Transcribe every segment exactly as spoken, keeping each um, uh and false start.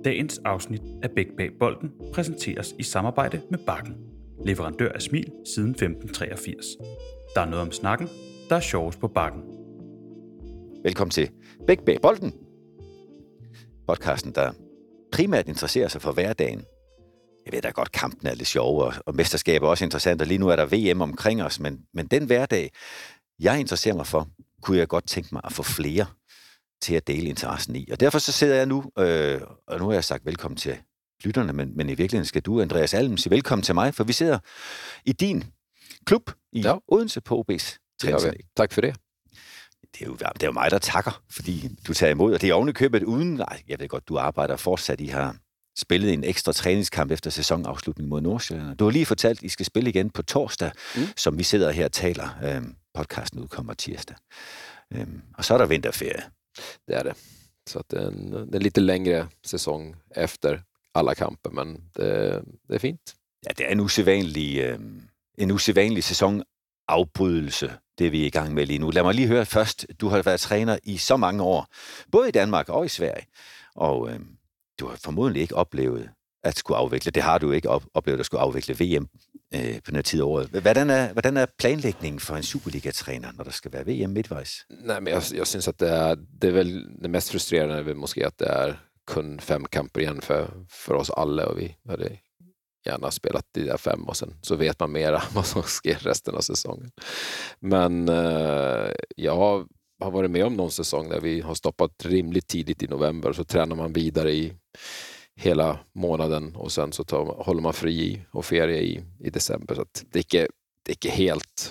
Dagens afsnit af Bæk bag bolden præsenteres i samarbejde med Bakken, leverandør af smil siden femten treogfirs. Der er noget om snakken, der er sjovest på Bakken. Velkommen til Bæk bag bolden, podcasten, der primært interesserer sig for hverdagen. Jeg ved da godt, kampen er lidt sjov, og, og mesterskabet er også interessant, og lige nu er der V M omkring os, men, men den hverdag, jeg interesserer mig for, kunne jeg godt tænke mig at få flere til at dele interessen i. Og derfor så sidder jeg nu, øh, og nu har jeg sagt velkommen til lytterne, men, men i virkeligheden skal du, Andreas Alm, sige velkommen til mig, for vi sidder i din klub i ja. Odense på O B's træningsanlæg. Tak for det. Det er, jo, det er jo mig, der takker, fordi du tager imod, og det er ovenikøbet uden, nej, jeg ved godt, du arbejder fortsat, I har spillet en ekstra træningskamp efter sæsonafslutning mod Nordsjælland. Du har lige fortalt, at I skal spille igen på torsdag, mm. som vi sidder her og taler. Øhm, podcasten udkommer tirsdag. Øhm, og så er der vinterferie. Det är det. Så att det är en, det är lite längre säsong efter alla kamper, men det, det är fint. Ja, det er en usædvanlig, øh, en usædvanlig sæsonafbrydelse, det vi er i gang med lige nu. Lad mig lige høre først, du har været træner i så mange år, både i Danmark og i Sverige, og øh, du har formodentlig ikke oplevet at skulle afvikle, det har du ikke op- oplevet at skulle afvikle V M øh, på den tid af året. Hvordan er, hvordan er planlægningen for en Superliga-træner, når der skal være V M midtvejs? Nej, men jag, jag syns att det är, det är väl det mest frustrerande är väl måske att det är kun fem kamper igen för, för oss alla, och vi hade gärna spelat de där fem och sen så vet man mer vad som sker resten av säsongen. Men eh, jag har, har varit med om någon säsong där vi har stoppat rimligt tidigt i november, så tränar man vidare i hela månaden och sen så tar, håller man fri och ferie i, i december. Så att det är inte, det är inte helt,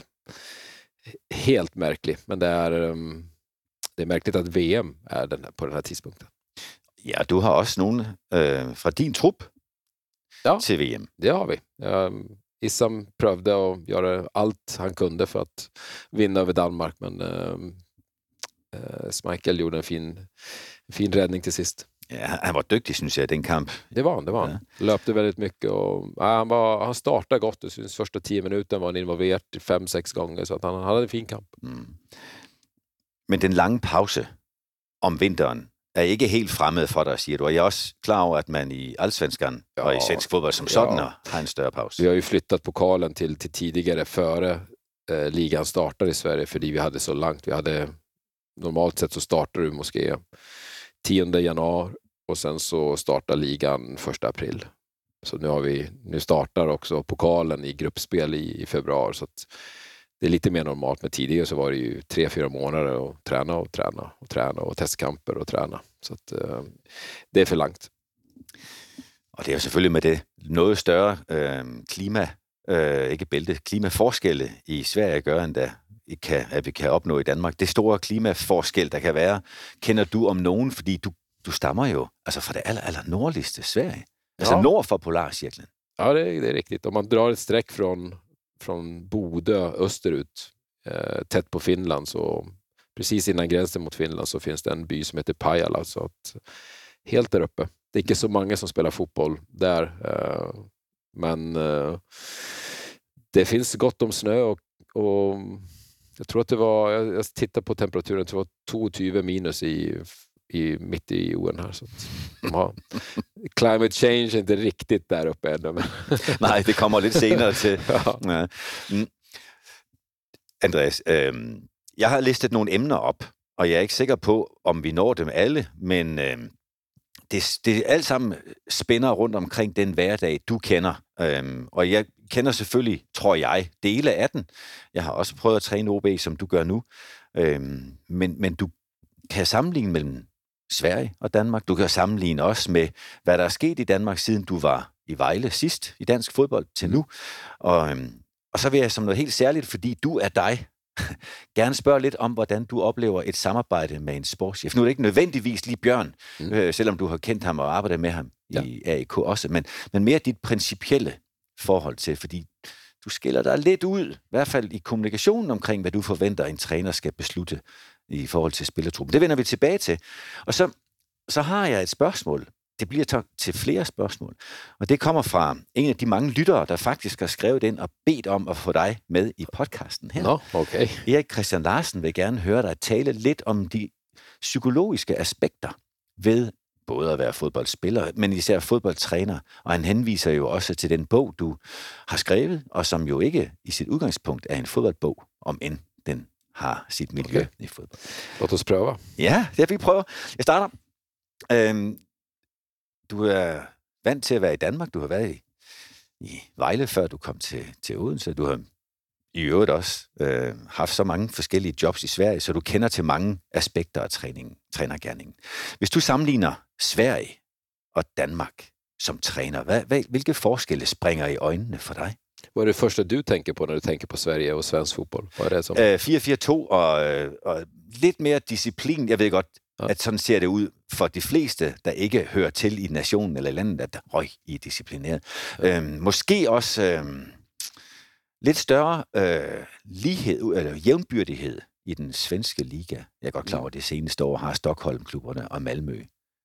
helt märkligt, men det är, um, det är märkligt att V M är den, på den här tidspunkten. Ja, du har også nogen øh, fra din trup ja, til V M. Det har vi. Um, Issam prövde att göra allt han kunde för att vinna över Danmark, men um, uh, Schmeichel gjorde en fin, en fin räddning till sist. Ja, han var dygtig, synes jeg, den kamp. Det var han, det var han. Ja. Löpte väldigt mycket och ja, han, var, han startade gott. Det syns första tio minuter var han involverad fem, sex gånger, så att han, han hade en fin kamp. Mm. Men den lange pause om vinteren er ikke helt fremmed for dig, siger du. Og jeg er også klar over, at man i Allsvenskan ja, og i svensk fodbold som sådan ja. har en større pause. Vi har ju flyttat pokalen till, till tidigare före eh, ligan startar i Sverige, för vi hade så långt. Vi hade, normalt sett så startar du måske tionde januari och sen så startar ligan första april. Så nu har vi nu startar också pokalen i gruppspel i, i februari, så att det är lite mer normalt. Med tidigare så var det ju tre, fyra månader och träna och träna och träna och testkamper och träna. Så att uh, det är för långt. Og det er jo selvfølgelig med det noget større øh, klima, øh, ikke bælte, klimaforskelle i Sverige at gøre, end der kan, at vi kan opnå i Danmark. Det store klimaforskel, der kan være, kender du om nogen, fordi du, du stammer jo altså fra det aller, aller nordligste Sverige. Altså ja. Nord for Polarcirkeln. Ja, det är, det är riktigt. Om man drar ett streck från, från Bodö österut, eh, tätt på Finland, så precis innan gränsen mot Finland så finns det en by som heter Pajala. Så att, helt där uppe. Det är inte så många som spelar fotboll där, eh, men eh, det finns gott om snö och, och jag tror att det var, jag, jag tittade på temperaturen, det var tjugotvå minus i, i mitt i jorden här. Så att, ja, climate change är inte riktigt där uppe ännu. Men nej, det kommer lidt senere til. Ja. Ja. Mm. Andreas, øh, jeg har listet nogle emner op, og jeg er ikke sikker på, om vi når dem alle, men øh, det, det alt sammen spænder rundt omkring den hverdag, du kender. Øhm, og jeg kender selvfølgelig, tror jeg, dele af den. Jeg har også prøvet at træne O B, som du gør nu. Øhm, men, men du kan sammenligne mellem Sverige og Danmark. Du kan sammenligne også med, hvad der er sket i Danmark, siden du var i Vejle sidst i dansk fodbold til nu. Og, øhm, og så vil jeg som noget helt særligt, fordi du er dig, gerne spørge lidt om, hvordan du oplever et samarbejde med en sportschef. Nu er det ikke nødvendigvis lige Bjørn, mm. øh, selvom du har kendt ham og arbejdet med ham ja. i A I K også, men, men mere dit principielle forhold til, fordi du skiller dig lidt ud, i hvert fald i kommunikationen omkring, hvad du forventer, en træner skal beslutte i forhold til spillertruppen. Det vender vi tilbage til. Og så, så har jeg et spørgsmål. Det bliver til flere spørgsmål. Og det kommer fra en af de mange lyttere, der faktisk har skrevet ind og bedt om at få dig med i podcasten her. Nå, okay. Erik Christian Larsen vil gerne høre dig tale lidt om de psykologiske aspekter ved både at være fodboldspiller, men især fodboldtræner. Og han henviser jo også til den bog, du har skrevet, og som jo ikke i sit udgangspunkt er en fodboldbog, om end den har sit miljø okay. i fodbold. Låt os prøve. Ja, det vi prøver. Jeg starter. Øhm, du er vant til at være i Danmark. Du har været i, i Vejle, før du kom til, til Odense. Du har i øvrigt også øh, haft så mange forskellige jobs i Sverige, så du kender til mange aspekter af træningen, trænergerningen. Hvis du sammenligner Sverige og Danmark som træner, hvad, hvad, hvilke forskelle springer i øjnene for dig? Vad är det första du tänker på när du tänker på Sverige og svensk fodbold? Vad är det som? Øh, fire fire to og, og lidt mere disciplin. Jeg ved godt, ja. at sådan ser det ud for de fleste, der ikke hører til i nationen eller landet, at røg I er disciplineret. Ja. Øhm, måske også øhm, lidt større øh, lighed, eller jævnbyrdighed i den svenske liga. Jeg er godt klar over, at det seneste år har Stockholm-klubberne og Malmö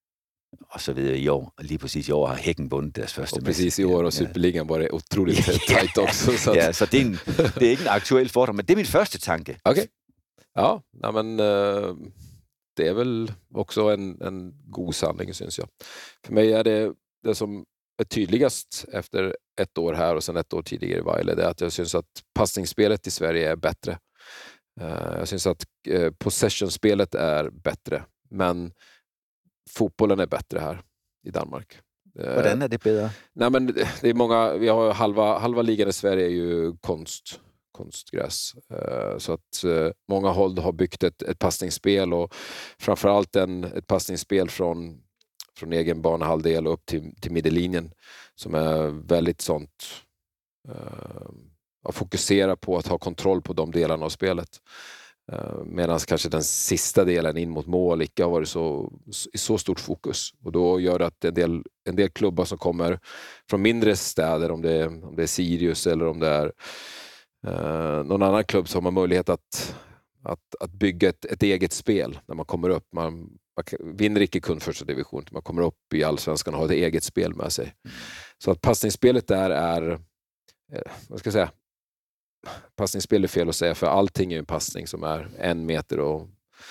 og så videre i år. Og lige præcis i år har Häcken vundet deres første match. Og præcis i år, og Superligaen var det utroligt tajt også. Så ja, så det er, en, det er ikke en aktuel fordom, men det er min første tanke. Okay. Ja, nej, men uh, det är väl också en, en god sanning, syns jag. För mig är det det som är tydligast efter ett år här och sen ett år tidigare i Vejle, det är att jag syns att passningsspelet i Sverige är bättre. Uh, jag syns att uh, possession-spelet är bättre, men fotbollen är bättre här i Danmark. Hvordan är det bättre? Nej, men det är många, vi har halva halva ligan i Sverige är ju konst konstgräs. Uh, så att uh, många håll har byggt ett ett passningsspel och framförallt en ett passningsspel från från egen banehalvdel upp till till midjelinjen som är väldigt sånt uh, att fokusera på att ha kontroll på de delarna av spelet. Uh, medan kanske den sista delen in mot mål inte har varit så, i så stort fokus. Och då gör det att en del, en del klubbar som kommer från mindre städer, om det är, om det är Sirius eller om det är uh, någon annan klubb, som har möjlighet att, att, att bygga ett, ett eget spel när man kommer upp. Man, man vinner inte kun första division, man kommer upp i allsvenskan och har ett eget spel med sig. Så att passningsspelet där är, eh, vad ska jag säga, passningsspel är fel att säga, för allting är en passning som är en meter och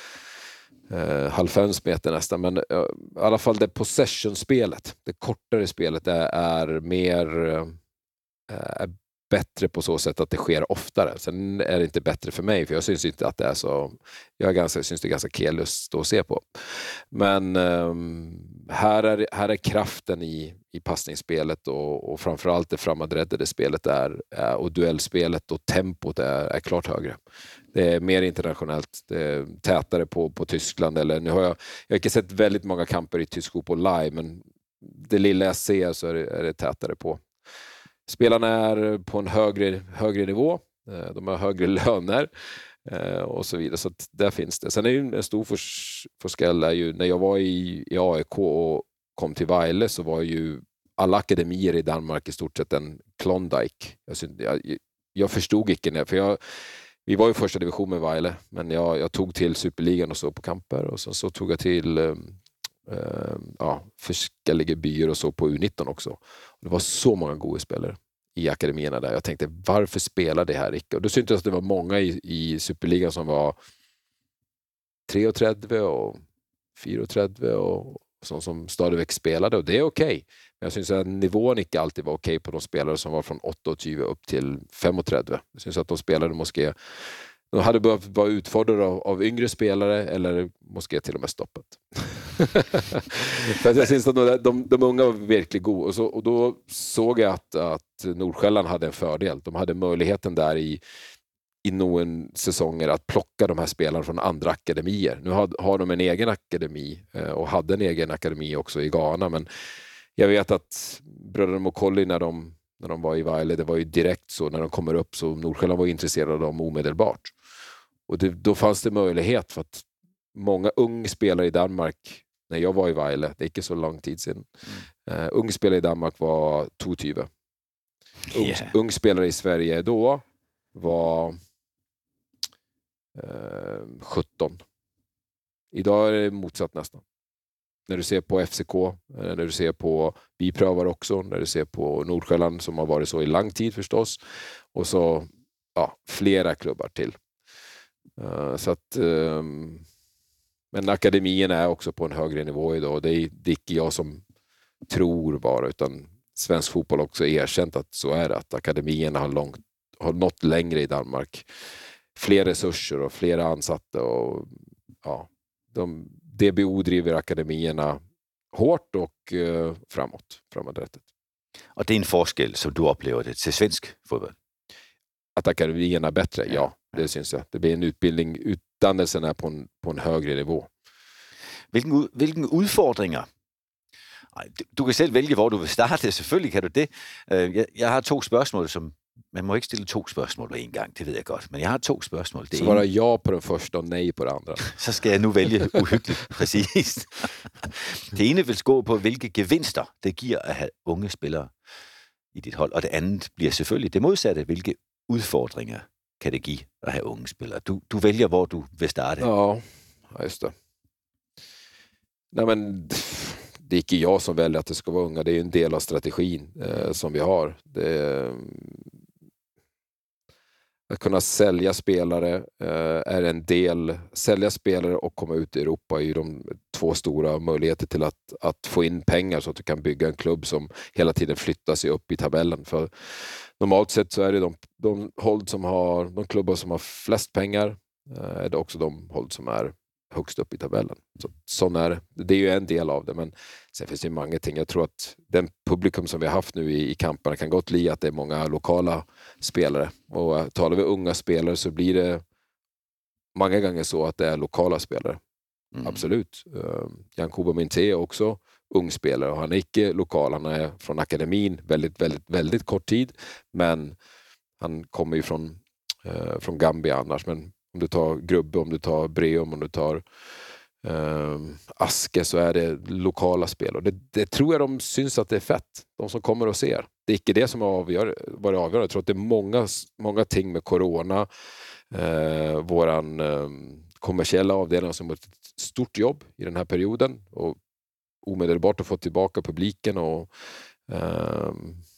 eh, halvfems meter nästan, men eh, i alla fall det possession-spelet, det kortare spelet, det är mer eh, är bättre på så sätt att det sker oftare. Sen är det inte bättre för mig, för jag syns inte att det är så, jag är ganska, syns det är ganska kelust att se på. Men eh, här, är, här är kraften i, i passningsspelet och, och framförallt det framåträddade spelet är, är, och duellspelet och tempot är, är klart högre. Det är mer internationellt, det är tätare på, på Tyskland. Eller, nu har jag, jag har inte sett väldigt många kamper i tysk fotboll live, men det lilla jag ser så är det, är det tätare på. Spelarna är på en högre, högre nivå, de har högre löner och så vidare, så att där finns det. Sen är ju en stor forskel är ju, när jag var i, i A I K och kom till Vejle, så var ju alla akademier i Danmark i stort sett en Klondike. Jag, jag, jag förstod inte, för jag, vi var ju första division med Vejle, men jag, jag tog till Superligan och så på kamper, och så, så tog jag till Uh, ja, forskellige byer och så på U nitton också. Och det var så många goda spelare i akademierna där. Jag tänkte, varför spelar det här inte? Och då syntes att det var många i, i Superligan som var trettio och fyrtio och som, som stadigväck spelade, och det är okej. Okay. Men jag syns att nivån inte alltid var okej okay på de spelare som var från tjugoåtta upp till trettio. Jag syns att de spelade måske de hade behövt vara utfordrade av, av yngre spelare, eller måske till och med stoppat. För att jag syns att de, de, de unga var verkligen goda. Och, så, och då såg jag att, att Nordsjälland hade en fördel. De hade möjligheten där i, i någon säsonger att plocka de här spelarna från andra akademier. Nu har, har de en egen akademi och hade en egen akademi också i Ghana. Men jag vet att bröderna Mokolli, när de, när de var i Vejle, det var ju direkt så, när de kommer upp, så Nordsjälland var intresserade av dem omedelbart. Och det, då fanns det möjlighet, för att många unga spelare i Danmark, när jag var i Vejle, det är inte så lång tid sedan, mm. uh, unga spelare i Danmark var tjugo. Ung, yeah. Ung spelare i Sverige då var uh, sjutton. Idag är det motsatt nästan. När du ser på F C K, när du ser på vi prövar också, när du ser på Nordsjälland som har varit så i lång tid förstås, och så ja, flera klubbar till. Uh, så att um, Men akademin är också på en högre nivå idag. Det är, det är inte jag som tror bara, utan svensk fotboll har också erkänt att så är det. Att akademierna har, långt, har nått längre i Danmark. Fler resurser och fler ansatta. Och, ja, de, D B O driver akademierna hårt och eh, framåt. framåträttet. Och det är en forskel som du upplever det till svensk fotboll? Att akademierna är bättre, ja, ja, det syns jag. Det blir en utbildning, utdannelsen är på en, på en högre nivå. Vilken, vilken udfordringer? Du, du kan selv vælge, hvor du vil starte. Selvfølgelig kan du det. Jeg, jeg har to spørgsmål, som... Man må ikke stille to spørgsmål på en gang, det ved jeg godt. Men jeg har to spørgsmål. Det så var det ja på den første og nej på den andre. Så skal jeg nu vælge uhyggeligt, præcis. Det ene vil gå på, hvilke gevinster det giver at have unge spillere i dit hold. Og det andet bliver selvfølgelig det modsatte. Hvilke udfordringer kan det give at have unge spillere? Du, du vælger, hvor du vil starte. Ja, just det. Nej, men det är inte jag som väljer att det ska vara unga. Det är ju en del av strategin eh, som vi har. Det, att kunna sälja spelare eh, är en del. Sälja spelare och komma ut i Europa är ju de två stora möjligheter till att, att få in pengar så att du kan bygga en klubb som hela tiden flyttar sig upp i tabellen. För normalt sett så är det de, de håll som har, de klubbar som har flest pengar eh, är det också de håll som är högst upp i tabellen. Så, sån är det. Det är ju en del av det, men sen finns det ju många ting. Jag tror att den publikum som vi har haft nu i, i kamperna kan gott bli att det är många lokala spelare. Och uh, talar vi unga spelare så blir det många gånger så att det är lokala spelare. Mm. Absolut. Uh, Jan Kuba Minté är också ung spelare och han är inte lokal. Han är från akademin väldigt, väldigt, väldigt kort tid, men han kommer ju från, uh, från Gambia annars, men om du tar Grubbe, om du tar Breum, om du tar eh, Aske, så är det lokala spel. Och det, det tror jag de syns att det är fett. De som kommer och ser. Det är inte det som avgör, var det avgör. Jag tror att det är många, många ting med corona. Eh, våran eh, kommersiella avdelning som har ett stort jobb i den här perioden. Och omedelbart att få tillbaka publiken och eh,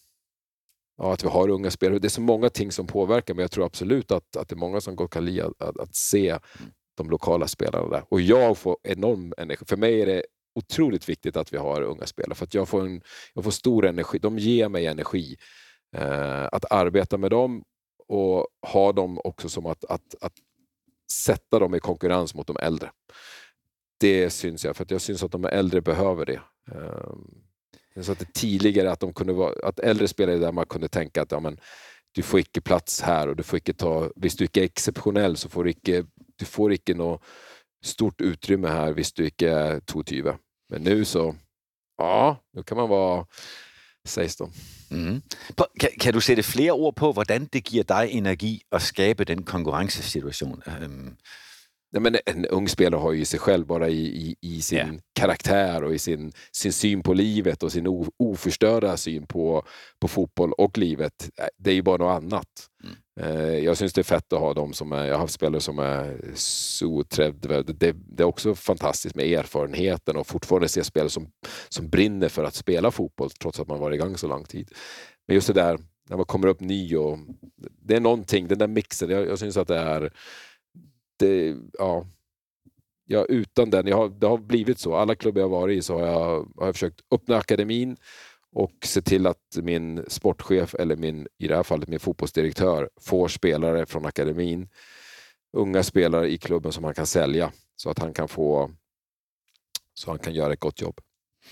ja, att vi har unga spelare. Det är så många ting som påverkar, men jag tror absolut att, att det är många som går kan lida att, att se de lokala spelarna där. Och jag får enorm energi. För mig är det otroligt viktigt att vi har unga spelare, för att jag får, en, jag får stor energi. De ger mig energi eh, att arbeta med dem och ha dem också som att, att, att sätta dem i konkurrens mot de äldre. Det syns jag, för att jag syns att de äldre behöver det. Eh, Så att det tidigare att de kunde vara, att äldre spelare där man kunde tänka att ja, men du får inte plats här och du får inte ta, visst du inte är exceptionell så får du inte, du får inte något stort utrymme här visst du inte är tjugo. Men nu så, ja, nu kan man vara, sägs de. Mm. Kan, kan du sætte flere ord på, hvordan det giver dig energi at skabe den konkurrencesituation? Um... Nej, men en ung spelare har ju sig själv bara i, i, i sin yeah. karaktär och i sin, sin syn på livet och sin o, oförstörda syn på, på fotboll och livet. Det är ju bara något annat. Mm. Eh, jag syns det är fett att ha dem som är, jag har haft spelare som är så trädda. Det, det är också fantastiskt med erfarenheten och fortfarande se spelare som, som brinner för att spela fotboll trots att man varit igång så lång tid. Men just det där, när man kommer upp ny och det är någonting, den där mixen, jag, jag syns att det är Det, ja, ja, utan den, jag har, det har blivit så. Alla klubbar jag har varit i så har jag, har jag försökt öppna akademin och se till att min sportchef eller min, i det här fallet min fotbollsdirektör får spelare från akademin, unga spelare i klubben som han kan sälja så att han kan få, så han kan göra ett gott jobb.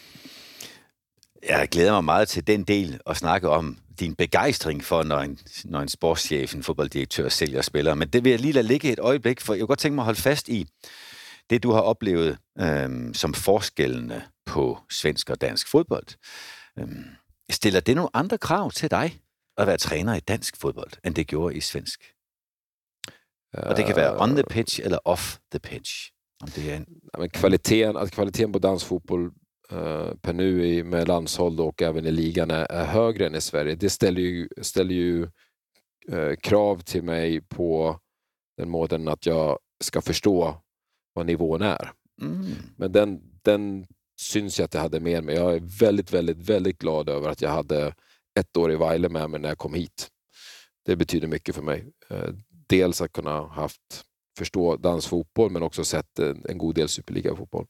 Jeg glæder mig meget til den del at snakke om din begejstring for, når en, når en sportschef, en fodbolddirektør sælger spillere. Men det vil jeg lige lade ligge et øjeblik, for jeg kunne godt tænke mig at holde fast i det, du har oplevet øhm, som forskellene på svensk og dansk fodbold. Øhm, stiller det nogle andre krav til dig at være træner i dansk fodbold, end det gjorde i svensk? Uh, og det kan være on the pitch eller off the pitch. Om det er en... Men kvaliteten, att kvaliteten på dansk fotboll Uh, per nu i, med landshåll och även i ligan är, är högre än i Sverige. Det ställer ju, ställer ju uh, krav till mig på den måten att jag ska förstå vad nivån är. Mm. Men den, den syns jag att jag hade med mig. Jag är väldigt, väldigt, väldigt glad över att jag hade ett år i Vejle med mig när jag kom hit. Det betyder mycket för mig. Uh, dels att kunna haft förstå dansfotboll, men också sett en, en god del Superliga-fotboll.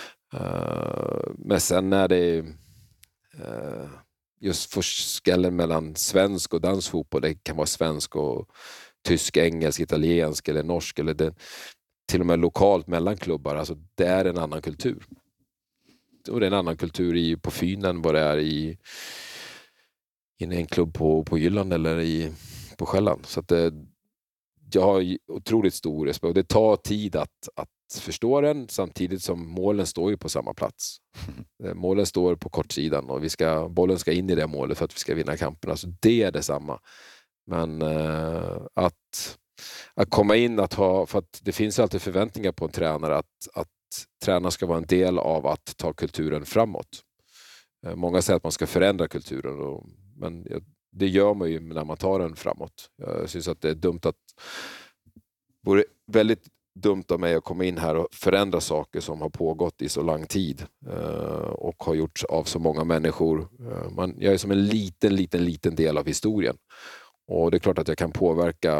Uh, men sen är det uh, just forskellen mellan svensk och dansfotboll. Det kan vara svensk och tysk, engelsk, italiensk eller norsk, eller det, till och med lokalt mellan klubbar. Alltså det är en annan kultur. Och det är en annan kultur i, på Fyn än vad det är i, i en klubb på, på Jylland eller i, på Själland. Så att det, jag har otroligt stor respekt. Och det tar tid att, att förstå den, samtidigt som målen står ju på samma plats. Målen står på kortsidan och vi ska, bollen ska in i det målet för att vi ska vinna kamperna. Så det är detsamma. Men eh, att, att komma in, att ha, för att det finns alltid förväntningar på en tränare att, att tränaren ska vara en del av att ta kulturen framåt. Eh, många säger att man ska förändra kulturen, och, men det gör man ju när man tar den framåt. Jag syns att det är dumt att det vore väldigt dumt av mig att komma in här och förändra saker som har pågått i så lång tid eh, och har gjorts av så många människor. Eh, man, jag är som en liten, liten, liten del av historien. Och det är klart att jag kan påverka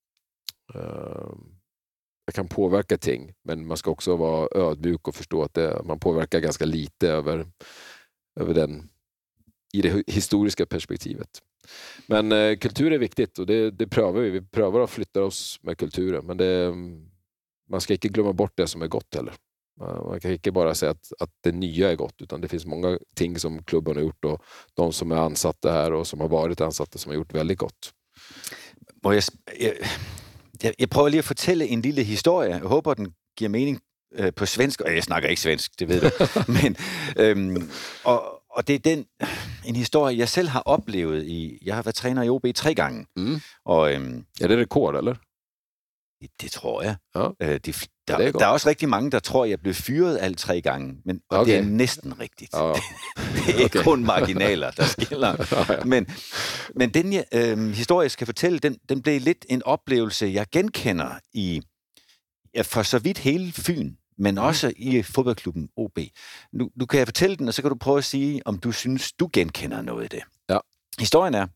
eh, jag kan påverka ting, men man ska också vara ödmjuk och förstå att det, man påverkar ganska lite över, över den, i det historiska perspektivet. Men eh, kultur är viktigt, och det, det prövar vi. Vi prövar att flytta oss med kulturen, men det, man ska inte glömma bort det som är gott heller. Man kan inte bara säga att, att det nya är gott, utan det finns många ting som klubben har gjort, och de som är ansatta här och som har varit ansatta som har gjort väldigt gott. Må jeg, jeg, jeg prøver lige at fortælle en lille historie. Jeg håber, den giver mening øh, på svensk. Og jeg snakker ikke svensk, det ved du. Men, øhm, og, og det er den, en historie, jeg selv har oplevet i... Jeg har været træner i O B tre gange. Mm. Og, øhm, er det rekord, eller? Det tror jeg. Ja. Øh, de, der, ja, der er også rigtig mange, der tror, jeg blev fyret alle tre gange. Men og okay. Det er næsten rigtigt. Ja. Det er ikke okay. kun marginaler, der skiller. Ja, ja. Men, men den jeg, øh, historie, jeg skal fortælle, den, den blev lidt en oplevelse, jeg genkender i ja, for så vidt hele Fyn, men også i fodboldklubben O B. Nu, nu kan jeg fortælle den, og så kan du prøve at sige, om du synes, du genkender noget af det. Ja. Historien er,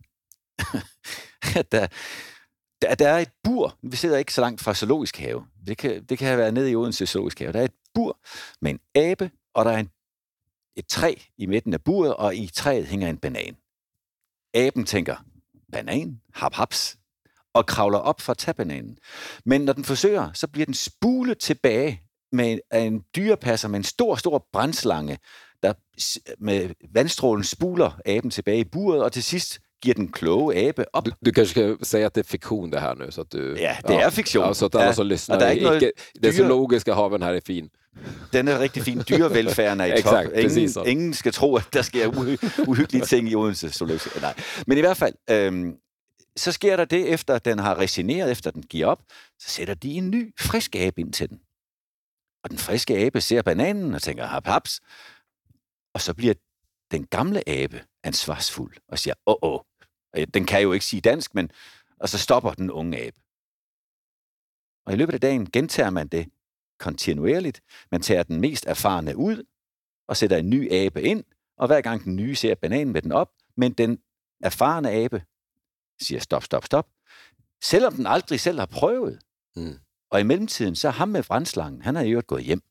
at der... Der, der er et bur. Vi sidder ikke så langt fra Zoologisk Have. Det kan, det kan være nede i Odense Zoologisk Have. Der er et bur med en abe, og der er en, et træ i midten af buret, og i træet hænger en banan. Aben tænker, banan, hap haps, og kravler op for at tage bananen. Men når den forsøger, så bliver den spulet tilbage med en dyrepasser med en stor, stor brandslange, der med vandstrålen spuler aben tilbage i buret, og til sidst giver den kloge abe op. Du, du kanske ska säga att det är fiktion det här nu, så att du... Ja, det ja, är fiktion. Ja, så att alla ja, som lyssnar... Det, är inte dyre... det zoologiska haven här är fin. Den er rigtig fin. Dyrevelfærden er i top. Ingen, ingen skal tro, at der sker uhy- uhyggelige ting i Odense Zoologisk. Nej. Men i hvert fald, øhm, så sker der det, efter den har resigneret, efter den giver op, så sætter de en ny, frisk abe ind til den. Og den friske abe ser bananen og tænker, hap haps. Og så bliver den gamle abe ansvarsfuld og siger, åh, åh. Den kan jo ikke sige dansk, men... Og så stopper den unge abe. Og i løbet af dagen gentager man det kontinuerligt. Man tager den mest erfarne ud, og sætter en ny abe ind, og hver gang den nye ser bananen med den op, men den erfarne abe siger stop, stop, stop. Selvom den aldrig selv har prøvet. Mm. Og i mellemtiden, så ham med brandslangen, han har jo gået hjem.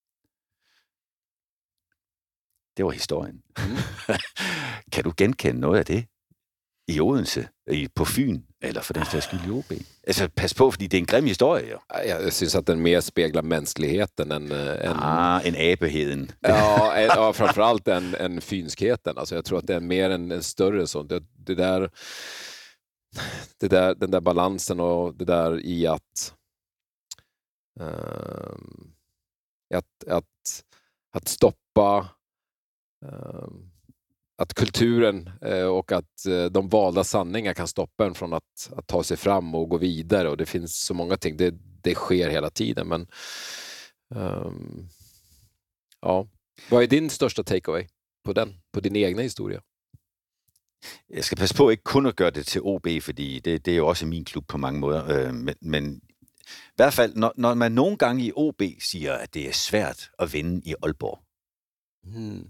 Det var historien. Mm. Kan du genkende noget af det? I Odense, i, på Fyn, eller for den sags skyld i O B. Altså, pas på, fordi det er en grim historie, jo. Jag syns att den mer speglar mänskligheten än... än ah, en abeheden. Ja, ja, framförallt en, en fynskheten. Alltså, jag tror att det är mer en, en större sån. Det, det där, det där, den där balansen och det där i att... Um, att, att, att stoppa... Um, att kulturen eh, och att eh, de valda sanningar kan stoppa en från att, att ta sig fram och gå vidare, och det finns så många ting, det, det sker hela tiden, men um, ja, vad är din största takeaway på den, på din egna historia? Jeg skal passe på ikke kun at gøre det til O B, fordi det, det er jo også min klub på mange måder, øh, men, men i hvert fald, når, når man nogle gange i O B siger, at det er svært at vinde i Aalborg, hmm.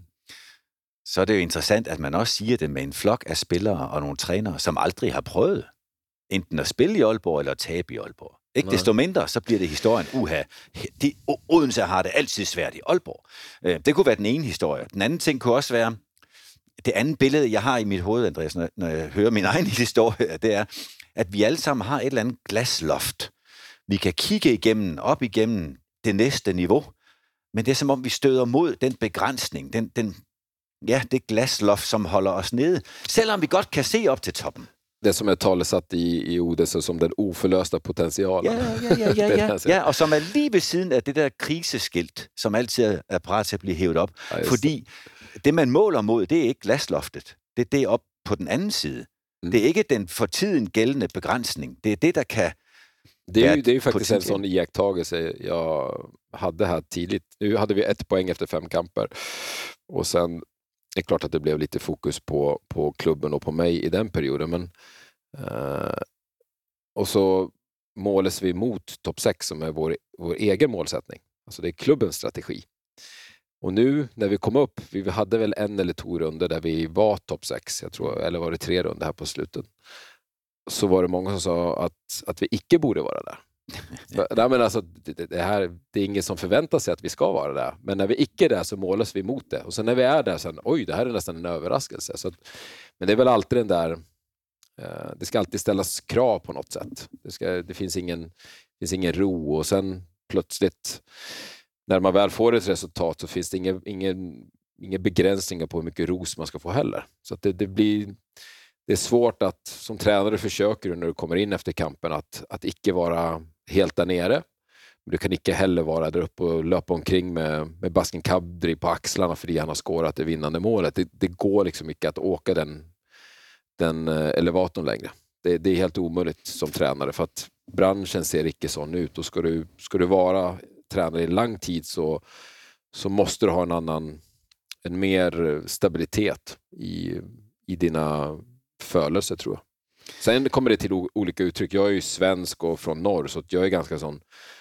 så er det jo interessant, at man også siger det med en flok af spillere og nogle trænere, som aldrig har prøvet enten at spille i Aalborg eller at tabe i Aalborg. Ikke desto mindre, så bliver det historien, uha, de, Odense har det altid svært i Aalborg. Det kunne være den ene historie. Den anden ting kunne også være, det andet billede, jeg har i mit hoved, Andreas, når, når jeg hører min egen historie, det er, at vi alle sammen har et eller andet glasloft. Vi kan kigge igennem, op igennem det næste niveau, men det er som om, vi støder mod den begrænsning, den, den, ja, det glasloft, som holder os nede, selvom vi godt kan se op til toppen. Det som är talesat i, i Odense som den oförlösta potentialen. Ja, ja, ja, ja, ja. ja, og som er lige ved siden af det der kriseskilt, som altid er parat til at blive hævet op. Ja, fordi det, man måler mod, det er ikke glasloftet. Det er det op på den anden side. Mm. Det er ikke den for tiden gældende begrænsning. Det er det, der kan... Det är ju, det är ju faktiskt en sån iakttagelse jag hade här tidigt. Nu hade vi ett poäng efter fem kamper. Och sen det är klart att det blev lite fokus på, på klubben och på mig i den perioden. Men, eh, och så måles vi mot topp sex som är vår, vår egen målsättning. Alltså det är klubbens strategi. Och nu när vi kom upp, vi hade väl en eller två runder där vi var topp sex. Jag tror, eller var det tre runder här på slutet. Så var det många som sa att, att vi icke borde vara där. Nej, men alltså, det, det, här, det är ingen som förväntar sig att vi ska vara där. Men när vi icke är där så målas vi mot det. Och sen när vi är där, sen, oj, det här är nästan en överraskelse. Så att, men det är väl alltid den där, eh, det ska alltid ställas krav på något sätt. Det, ska, det finns, ingen, finns ingen ro och sen plötsligt, när man väl får ett resultat så finns det ingen, ingen, ingen begränsningar på hur mycket ros man ska få heller. Så att det, det blir... Det är svårt att som tränare försöker när du kommer in efter kampen att, att icke vara helt där nere. Men du kan icke heller vara där uppe och löpa omkring med, med Baskin Kadri på axlarna för han har skårat det vinnande målet. Det, det går liksom inte att åka den, den elevatorn längre. Det, det är helt omöjligt som tränare för att branschen ser icke sån ut. Och ska du, ska du vara tränare i lång tid så, så måste du ha en annan, en mer stabilitet i, i dina förlöser tror jag. Sen kommer det till o- olika uttryck. Jag är ju svensk och från norr så att jag är ganska sån.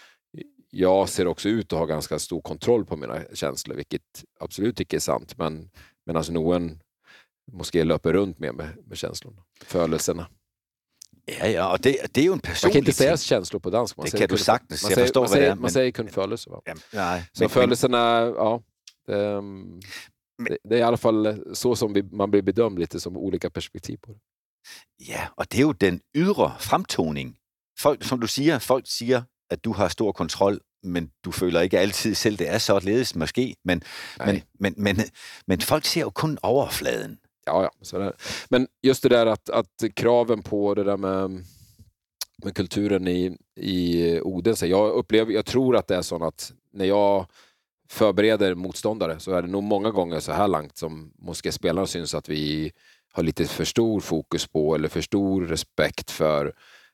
Jag ser också ut att ha ganska stor kontroll på mina känslor, vilket absolut inte är sant. Men medan någon måste löpa runt med med, med känslorna, förlöserna. Ja, ja, och det, det är ju en personlig Man kan inte säga ting. känslor på dansk. Man det säger kan du sagtens. Man jag säger, förstår man vad det är. Man men... säger kun förlöser, va? Ja, nej, så men, förlöserna, ja. Det, det, det är i alla fall så som vi, man blir bedömd lite som olika perspektiv på det. Ja, og det er jo den ydre fremtoning. Folk, som du siger, folk siger, at du har stor kontrol, men du føler ikke altid selv, det er så ledes måske. Men, men, men, men, men folk ser jo kun overfladen. Ja, ja. Så där. Men just det där att, att kraven på det där med, med kulturen i, i Odense. Jag upplever, jag tror att det är så att när jag förbereder motståndare så är det nog många gånger så här långt som måste spelarna syns att vi har lite för stor fokus på eller för stor respekt för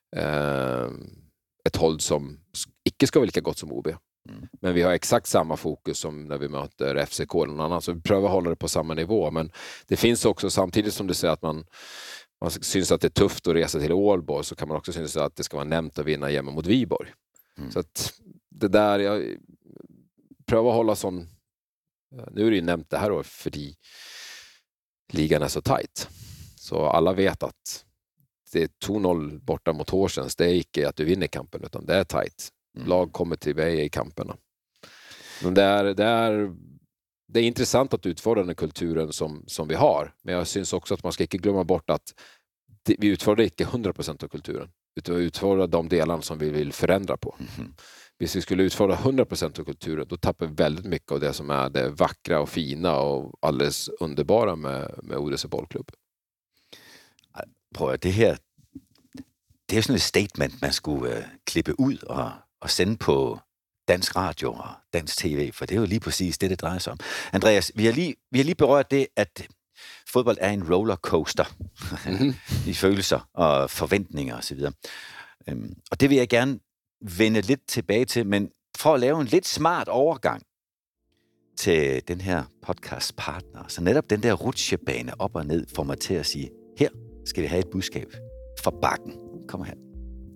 eh, ett håll som icke ska vara lika gott som O B. Mm. Men vi har exakt samma fokus som när vi möter F C K eller någon annan. Så vi prövar hålla det på samma nivå. Men det finns också, samtidigt som du säger att man, man syns att det är tufft att resa till Ålborg, så kan man också syns att det ska vara nämnt att vinna hemma mot Viborg. Mm. Så att det där, jag prövar hålla sån, nu är det ju nämnt det här då, för de ligan är så tajt. Så alla vet att det är två noll borta mot Horsens. Det är inte att du vinner kampen, utan det är tajt. Mm. Lag kommer till dig i kamperna. Men det är, det är, det är intressant att utföra den kulturen som, som vi har. Men jag syns också att man ska inte glömma bort att det, vi utför inte hundra procent av kulturen. Utan vi utför de delarna som vi vill förändra på. Mm. Hvis vi skulle utföra hundra procent av kulturen, då tappar vi väldigt mycket av det som är det vackra och fina och alldeles underbara med, med Odense boldklub. Prøv at det her, det er sådan et statement, man skulle øh, klippe ud og, og sende på dansk radio og dansk tv, for det er jo lige præcis det, det drejer sig om. Andreas, vi har lige, vi har lige berørt det, at fodbold er en rollercoaster mm-hmm. i følelser og forventninger osv. Øhm, og det vil jeg gerne vende lidt tilbage til, men for at lave en lidt smart overgang til den her podcast partner, så netop den der rutsjebane op og ned får mig til at sige, her skal vi have et budskab fra Bakken. Kom her.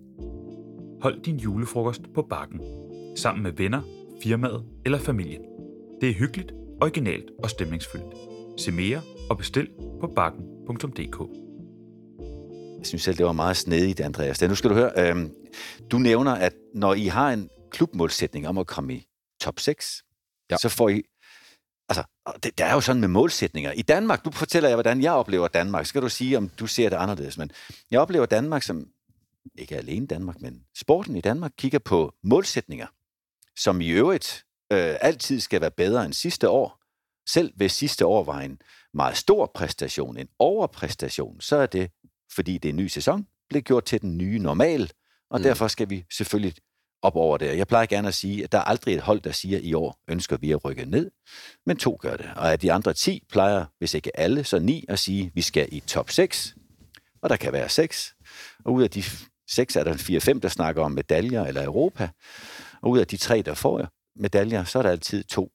Hold din julefrokost på Bakken, sammen med venner, firmaet eller familien. Det er hyggeligt, originalt og stemningsfyldt. Se mere og bestil på bakken punktum d k. Jeg synes selv, det var meget snedigt, Andreas. Nu skal du høre, øh, du nævner, at når I har en klubmålsætning om at komme i top seks, ja. så får I... Altså, det, der er jo sådan med målsætninger. I Danmark, nu fortæller jeg, hvordan jeg oplever Danmark. Skal du sige, om du ser det anderledes. Men jeg oplever Danmark som, ikke alene Danmark, men sporten i Danmark kigger på målsætninger, som i øvrigt øh, altid skal være bedre end sidste år. Selv hvis sidste år var en meget stor præstation, en overpræstation, så er det, fordi det er en ny sæson, blev gjort til den nye normal, og mm. derfor skal vi selvfølgelig op over det. Jeg plejer gerne at sige, at der er aldrig et hold, der siger, at i år ønsker vi at rykke ned, men to gør det. Og af de andre ti plejer, hvis ikke alle, så ni at sige, at vi skal i top seks, og der kan være seks. Og ud af de seks er der fire fem, der snakker om medaljer eller Europa, og ud af de tre, der får medaljer, så er der altid to.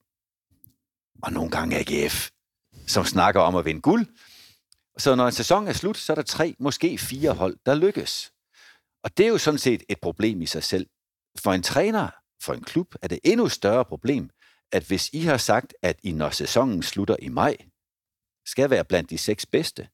Og nogle gange A G F, som snakker om at vinde guld. Så når en sæson er slut, så er der tre, måske fire hold, der lykkes. Og det er jo sådan set et problem i sig selv. For en træner, for en klub, er det endnu større problem, at hvis I har sagt, at I, når sæsonen slutter i maj, skal være blandt de seks bedste,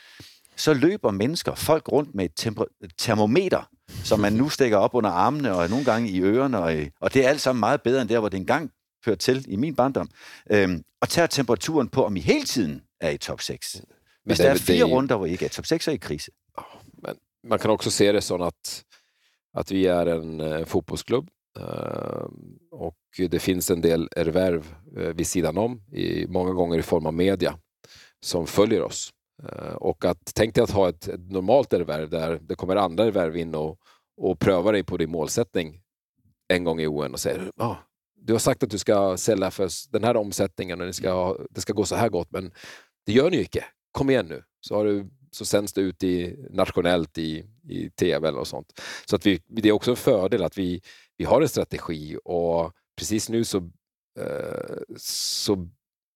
så løber mennesker, folk rundt med et temper- termometer, som man nu stikker op under armene og nogle gange i ørerne, og, og det er alt sammen meget bedre end der, hvor det engang hørte til i min barndom, øhm, og tager temperaturen på, om I hele tiden er i top seks. Hvis der er fire runder, hvor I ikke er top seks, så er I krise. Men man kan också se det som att, att vi är en uh, fotbollsklubb uh, och det finns en del ervärv uh, vid sidan om, i, många gånger i form av media, som följer oss. Uh, och att tänk dig att ha ett, ett normalt ervärv där det kommer andra ervärv in och, och prövar dig på din målsättning en gång i O N och säger ah, du har sagt att du ska sälja för den här omsättningen och det ska, ha, det ska gå så här gott, men det gör ni ju inte. Kom igen nu. Så, har du, så sänds det ut i, nationellt i, i T V och sånt. Så att vi, det är också en fördel att vi, vi har en strategi och precis nu så, eh, så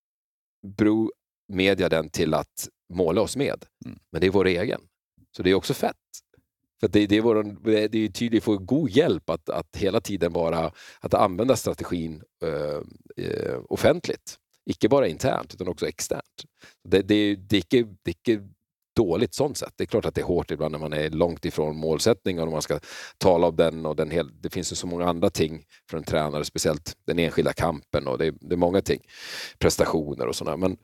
beror media den till att måla oss med. Mm. Men det är vår egen. Så det är också fett. För det, det är vår, det är tydligt för god hjälp att, att hela tiden bara att använda strategin eh, eh, offentligt. Ikke bara internt, utan också externt. Det, det, det, är inte, det är inte dåligt sånt sätt. Det är klart att det är hårt ibland när man är långt ifrån målsättningen och man ska tala om den. Och den hel, det finns ju så många andra ting för en tränare, speciellt den enskilda kampen. Och det, det är många ting, prestationer och sådär. Men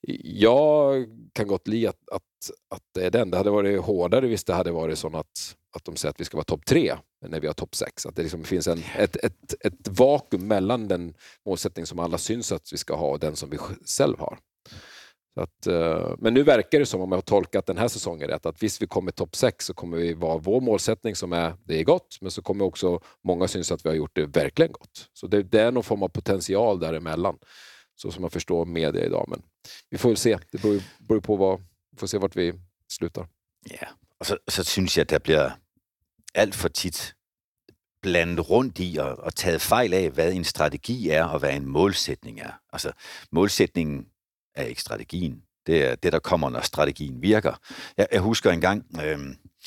jag kan gott li att, att, att det är den. Det hade varit hårdare hvis det hade varit så att, att de säger att vi ska vara topp tre när vi har topp sex. Att det liksom finns en, ett, ett, ett vakuum mellan den målsättning som alla syns att vi ska ha och den som vi själv har. Så att, uh, men nu verkar det som, om jag har tolkat den här säsongen rätt, att visst vi kommer topp sex så kommer vi vara vår målsättning som är, det är gott, men så kommer också många syns att vi har gjort det verkligen gott. Så det, det är någon form av potential däremellan, så som man förstår media idag. Men vi får väl se, det beror, beror på vad, vi får se vart vi slutar. Ja, og så, så synes jeg, at der bliver alt for tit blandet rundt i og, og taget fejl af, hvad en strategi er og hvad en målsætning er. Altså, målsætningen er ikke strategien. Det er det, der kommer, når strategien virker. Jeg, jeg husker en gang, øh,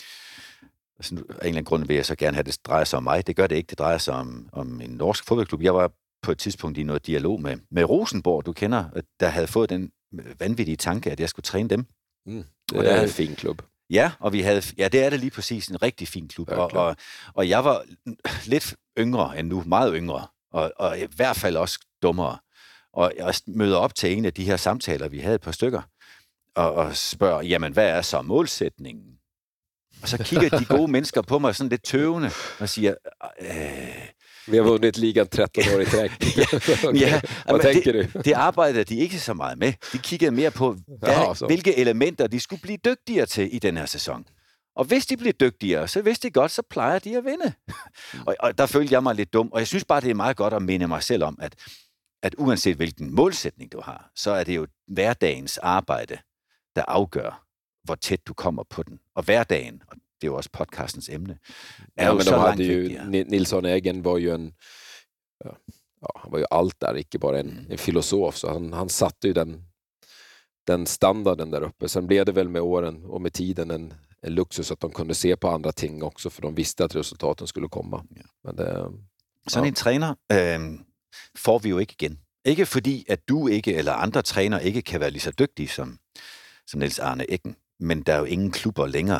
altså, af en eller anden grund vil jeg så gerne have, det drejer sig om mig. Det gør det ikke. Det drejer sig om, om en norsk fodboldklub. Jeg var på et tidspunkt i noget dialog med, med Rosenborg, du kender, der havde fået den vanvittige tanke, at jeg skulle træne dem. Mm, det og er der, en fin klub. Ja, og vi havde, ja, det er det lige præcis, en rigtig fin klub. Ja, og, og, og jeg var lidt yngre end nu, meget yngre, og, og i hvert fald også dummere. Og jeg møder op til en af de her samtaler, vi havde et par stykker, og, og spørger, jamen, hvad er så målsætningen? Og så kigger de gode mennesker på mig sådan lidt tøvende og siger, øh, vi har vundet ligan tretten år i træk. Okay. Ja, hvad tænker det, du? Det arbejdede de ikke så meget med. De kiggede mere på, hvad, ja, hvilke elementer de skulle blive dygtigere til i den her sæson. Og hvis de bliver dygtigere, så hvis de godt, så plejer de at vinde. og, og der følte jeg mig lidt dum. Og jeg synes bare, det er meget godt at minde mig selv om, at, at uanset hvilken målsætning du har, så er det jo hverdagens arbejde, der afgør, hvor tæt du kommer på den. Og hverdagen, og det er jo også podcastens emne, er ja, jo men så de langt vigtigere. Nilsson Egen var ju en, ja, han var ju allt där, inte bara en, en filosof, så han, han satte ju den, den standarden där uppe. Sen blev det väl med åren och med tiden en, en luxus att de kunde se på andra ting också, för de visste att resultaten skulle komma. Ja. Men det, sådan ja. En træner øh, får vi jo ikke igen. Ikke fordi, at du ikke, eller andre træner ikke kan være lige så dygtige som, som Niels Arne Eggen, men der er jo ingen klubber længere,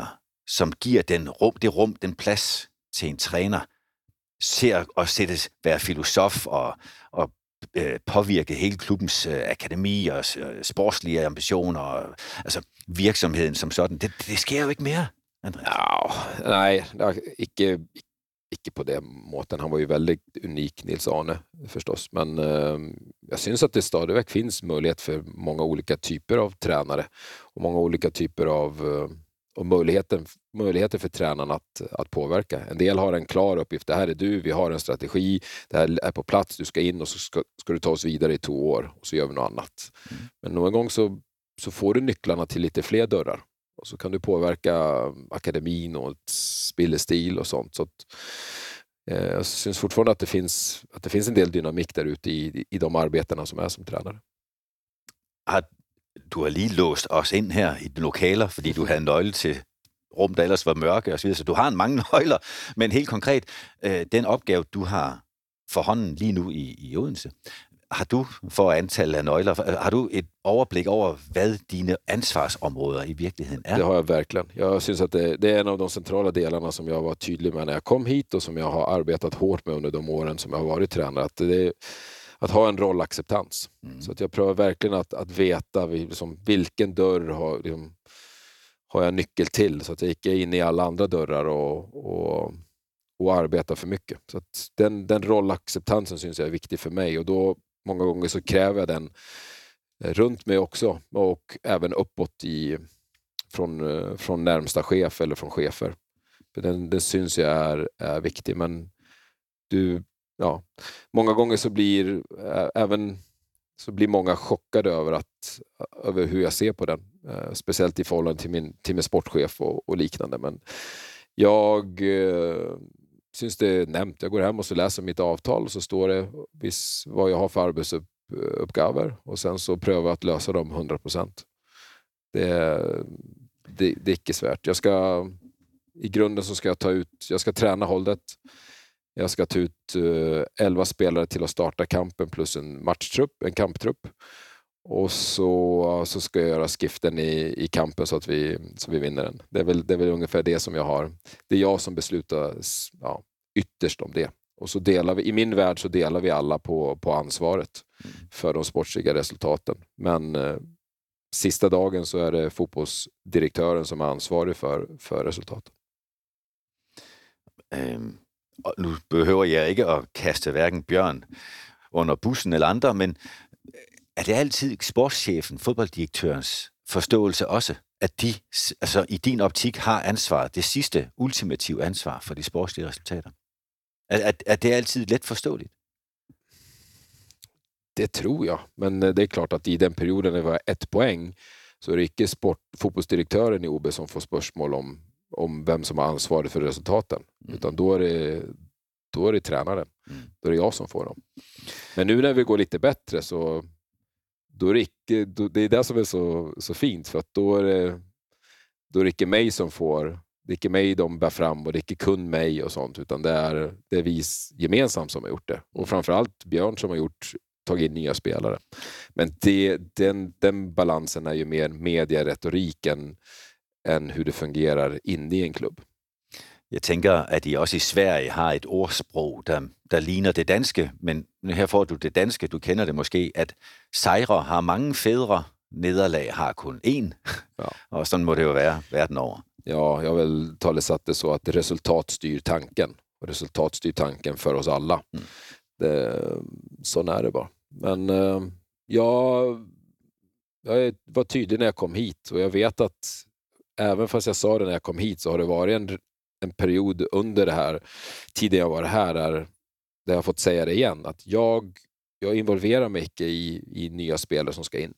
som giver den rum, det rum, den plads til en træner, ser at sættes, være filosof og, og øh, påvirke hele klubbens øh, akademi og øh, sportslige ambitioner, og, altså virksomheden som sådan. Det, det sker jo ikke mere, Andreas. Ja, nej, ikke, ikke på det måten. Han var ju väldigt unik, Nils Arne, förstås. Men eh, jag syns att det stadigväck finns möjlighet för många olika typer av tränare och många olika typer av eh, och möjligheten, möjligheter för tränarna att, att påverka. En del har en klar uppgift. Det här är du, vi har en strategi, det här är på plats, du ska in och så ska, ska du ta oss vidare i två år och så gör vi något annat. Mm. Men någon gång så, så får du nycklarna till lite fler dörrar. Och så kan du påverka akademin och spillestil och sånt. Så att, eh, jag syns fortfarande att det finns, att det finns en del dynamik där ute i, i de arbetena som är som tränare. Har, du har lige låst os ind her i de lokaler, fordi du havde en nøgle til rum, der ellers var mørke og så videre. Så du har en mange nøgler, men helt konkret, øh, den opgave, du har for hånden lige nu i, i Odense, har du for antal af nøgler, har du et overblik over, hvad dine ansvarsområder i virkeligheden er? Det har jag verkligen. Jag syns att det, det är en av de centrala delarna som jag var tydlig med när jag kom hit och som jag har arbetat hårt med under de åren som jag har varit tränare. Att, det, att ha en rollacceptans. Mm. Så att jag prövar verkligen att, att veta liksom, vilken dörr har, liksom, har jag nyckel till. Så att jag inte är inne i alla andra dörrar och, och, och arbetar för mycket. Så att den, den rollacceptansen syns jag är viktig för mig. Och då många gånger så kräver jag den runt mig också och även uppåt i, från, från närmsta chef eller från chefer. För den, den syns jag är, är viktig, men du, ja, många gånger så blir äh, även så blir många chockade över, att, över hur jag ser på den. Äh, speciellt i förhållande till min, till min sportchef och, och liknande. Men jag äh, syns det är nämnt. Jag går hem och så läser mitt avtal och så står det vis, vad jag har för arbetsuppgaver och sen så prövar jag att lösa dem hundra procent. Det, det, det är inte svärt. Jag ska, i grunden så ska jag ta ut, jag ska träna hållet. Jag ska ta ut uh, elva spelare till att starta kampen plus en matchtrupp, en kamptrupp. Och så, så ska jag göra skiften i, i kampen så att vi, så vi vinner den. Det är, väl, det är väl ungefär det som jag har. Det är jag som beslutar ja, ytterst om det. Och så delar vi, i min värld så delar vi alla på, på ansvaret mm. för de sportsliga resultaten. Men eh, sista dagen så är det fotbollsdirektören som är ansvarig för, för resultaten. Um, og nu behøver jeg ikke at kaste hverken Bjørn under bussen eller andre, men er det altid sportschefen, fodbolddirektørens forståelse også, at de altså, i din optik har ansvar, det sidste ultimative ansvar for de sportslige resultater? Er, er, er det altid let forståeligt? Det tror jag, men det är klart att i den perioden det var ett poäng så är det inte sport, fotbollsdirektören i O B som får spörsmål om, om vem som har ansvaret för resultaten. Mm. Utan då är det, då är det tränaren. Mm. Då är det jag som får dem. Men nu när vi går lite bättre så då är det, inte, då, det är det som är så, så fint. För att då är det, då är det inte mig som får, det är inte mig de bär fram och det är inte kun mig och sånt. Utan det är, det är vi gemensamt som har gjort det. Och framförallt Björn som har gjort tagit in nya spelare. Men det, den, den balansen är ju mer medieretoriken än hur det fungerar inne i en klubb. Jeg tænker, at I også i Sverige har et ordsprog, der, der ligner det danske, men her får du det danske, du kender det måske, at sejre har mange fædre, nederlag har kun én, ja. Og sådan må det jo være verden over. Ja, jag vill talesatt det så att resultat styr tanken, och resultat styr tanken för oss alla. Mm. Det, sån är det bara. Men eh, jag, jag var tydlig när jag kom hit och jag vet att även fast jag sa det när jag kom hit så har det varit en, en period under det här tiden jag var här där, där jag har fått säga det igen att jag, jag involverar mig inte i, i nya spelare som ska in.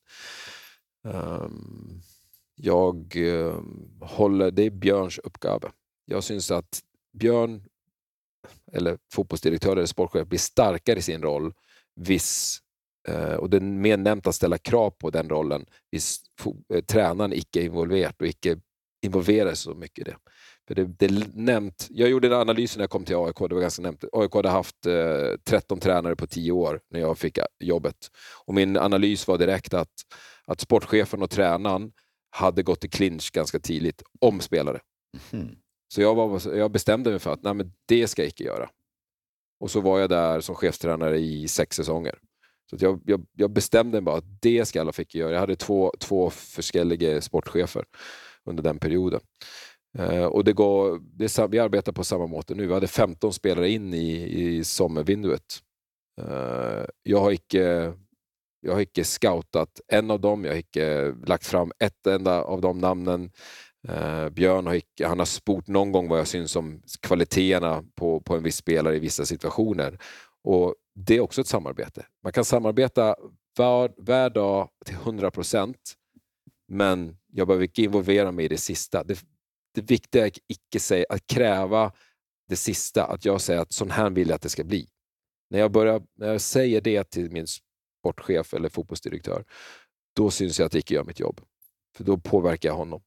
Um, jag um, håller, det är Björns uppgave. Jag syns att Björn eller fotbollsdirektör eller sportchef blir starkare i sin roll viss Uh, och det är mer nämnt att ställa krav på den rollen hvis fo- uh, tränaren icke är involverad och icke involverar så mycket i det. För det, det är nämnt, jag gjorde en analys när jag kom till A I K, det var ganska nämnt. A I K hade haft uh, tretton tränare på tio år när jag fick jobbet. Och min analys var direkt att, att sportchefen och tränaren hade gått i clinch ganska tidigt om spelare. Mm. Så jag, var, jag bestämde mig för att nej, men det ska jag inte göra. Och så var jag där som chefstränare i sex säsonger. Så att jag, jag, jag bestämde mig bara att det ska alla fick göra. Jag hade två, två förskelliga sportchefer under den perioden. Uh, och det går, det är, vi arbetar på samma måte nu. Vi hade femton spelare in i, i sommarvinduet. Uh, jag har inte jag har inte scoutat en av dem. Jag har inte lagt fram ett enda av de namnen. Uh, Björn har, inte, han har sport någon gång vad jag syns om kvaliteterna på, på en viss spelare i vissa situationer. Och det är också ett samarbete. Man kan samarbeta var, var dag till hundra procent, men jag behöver inte involvera mig i det sista. Det, det viktiga är icke säga, att kräva det sista, att jag säger att sån här vill jag att det ska bli. När jag, börjar, när jag säger det till min sportchef eller fotbollsdirektör, då syns jag att jag inte gör mitt jobb. För då påverkar jag honom.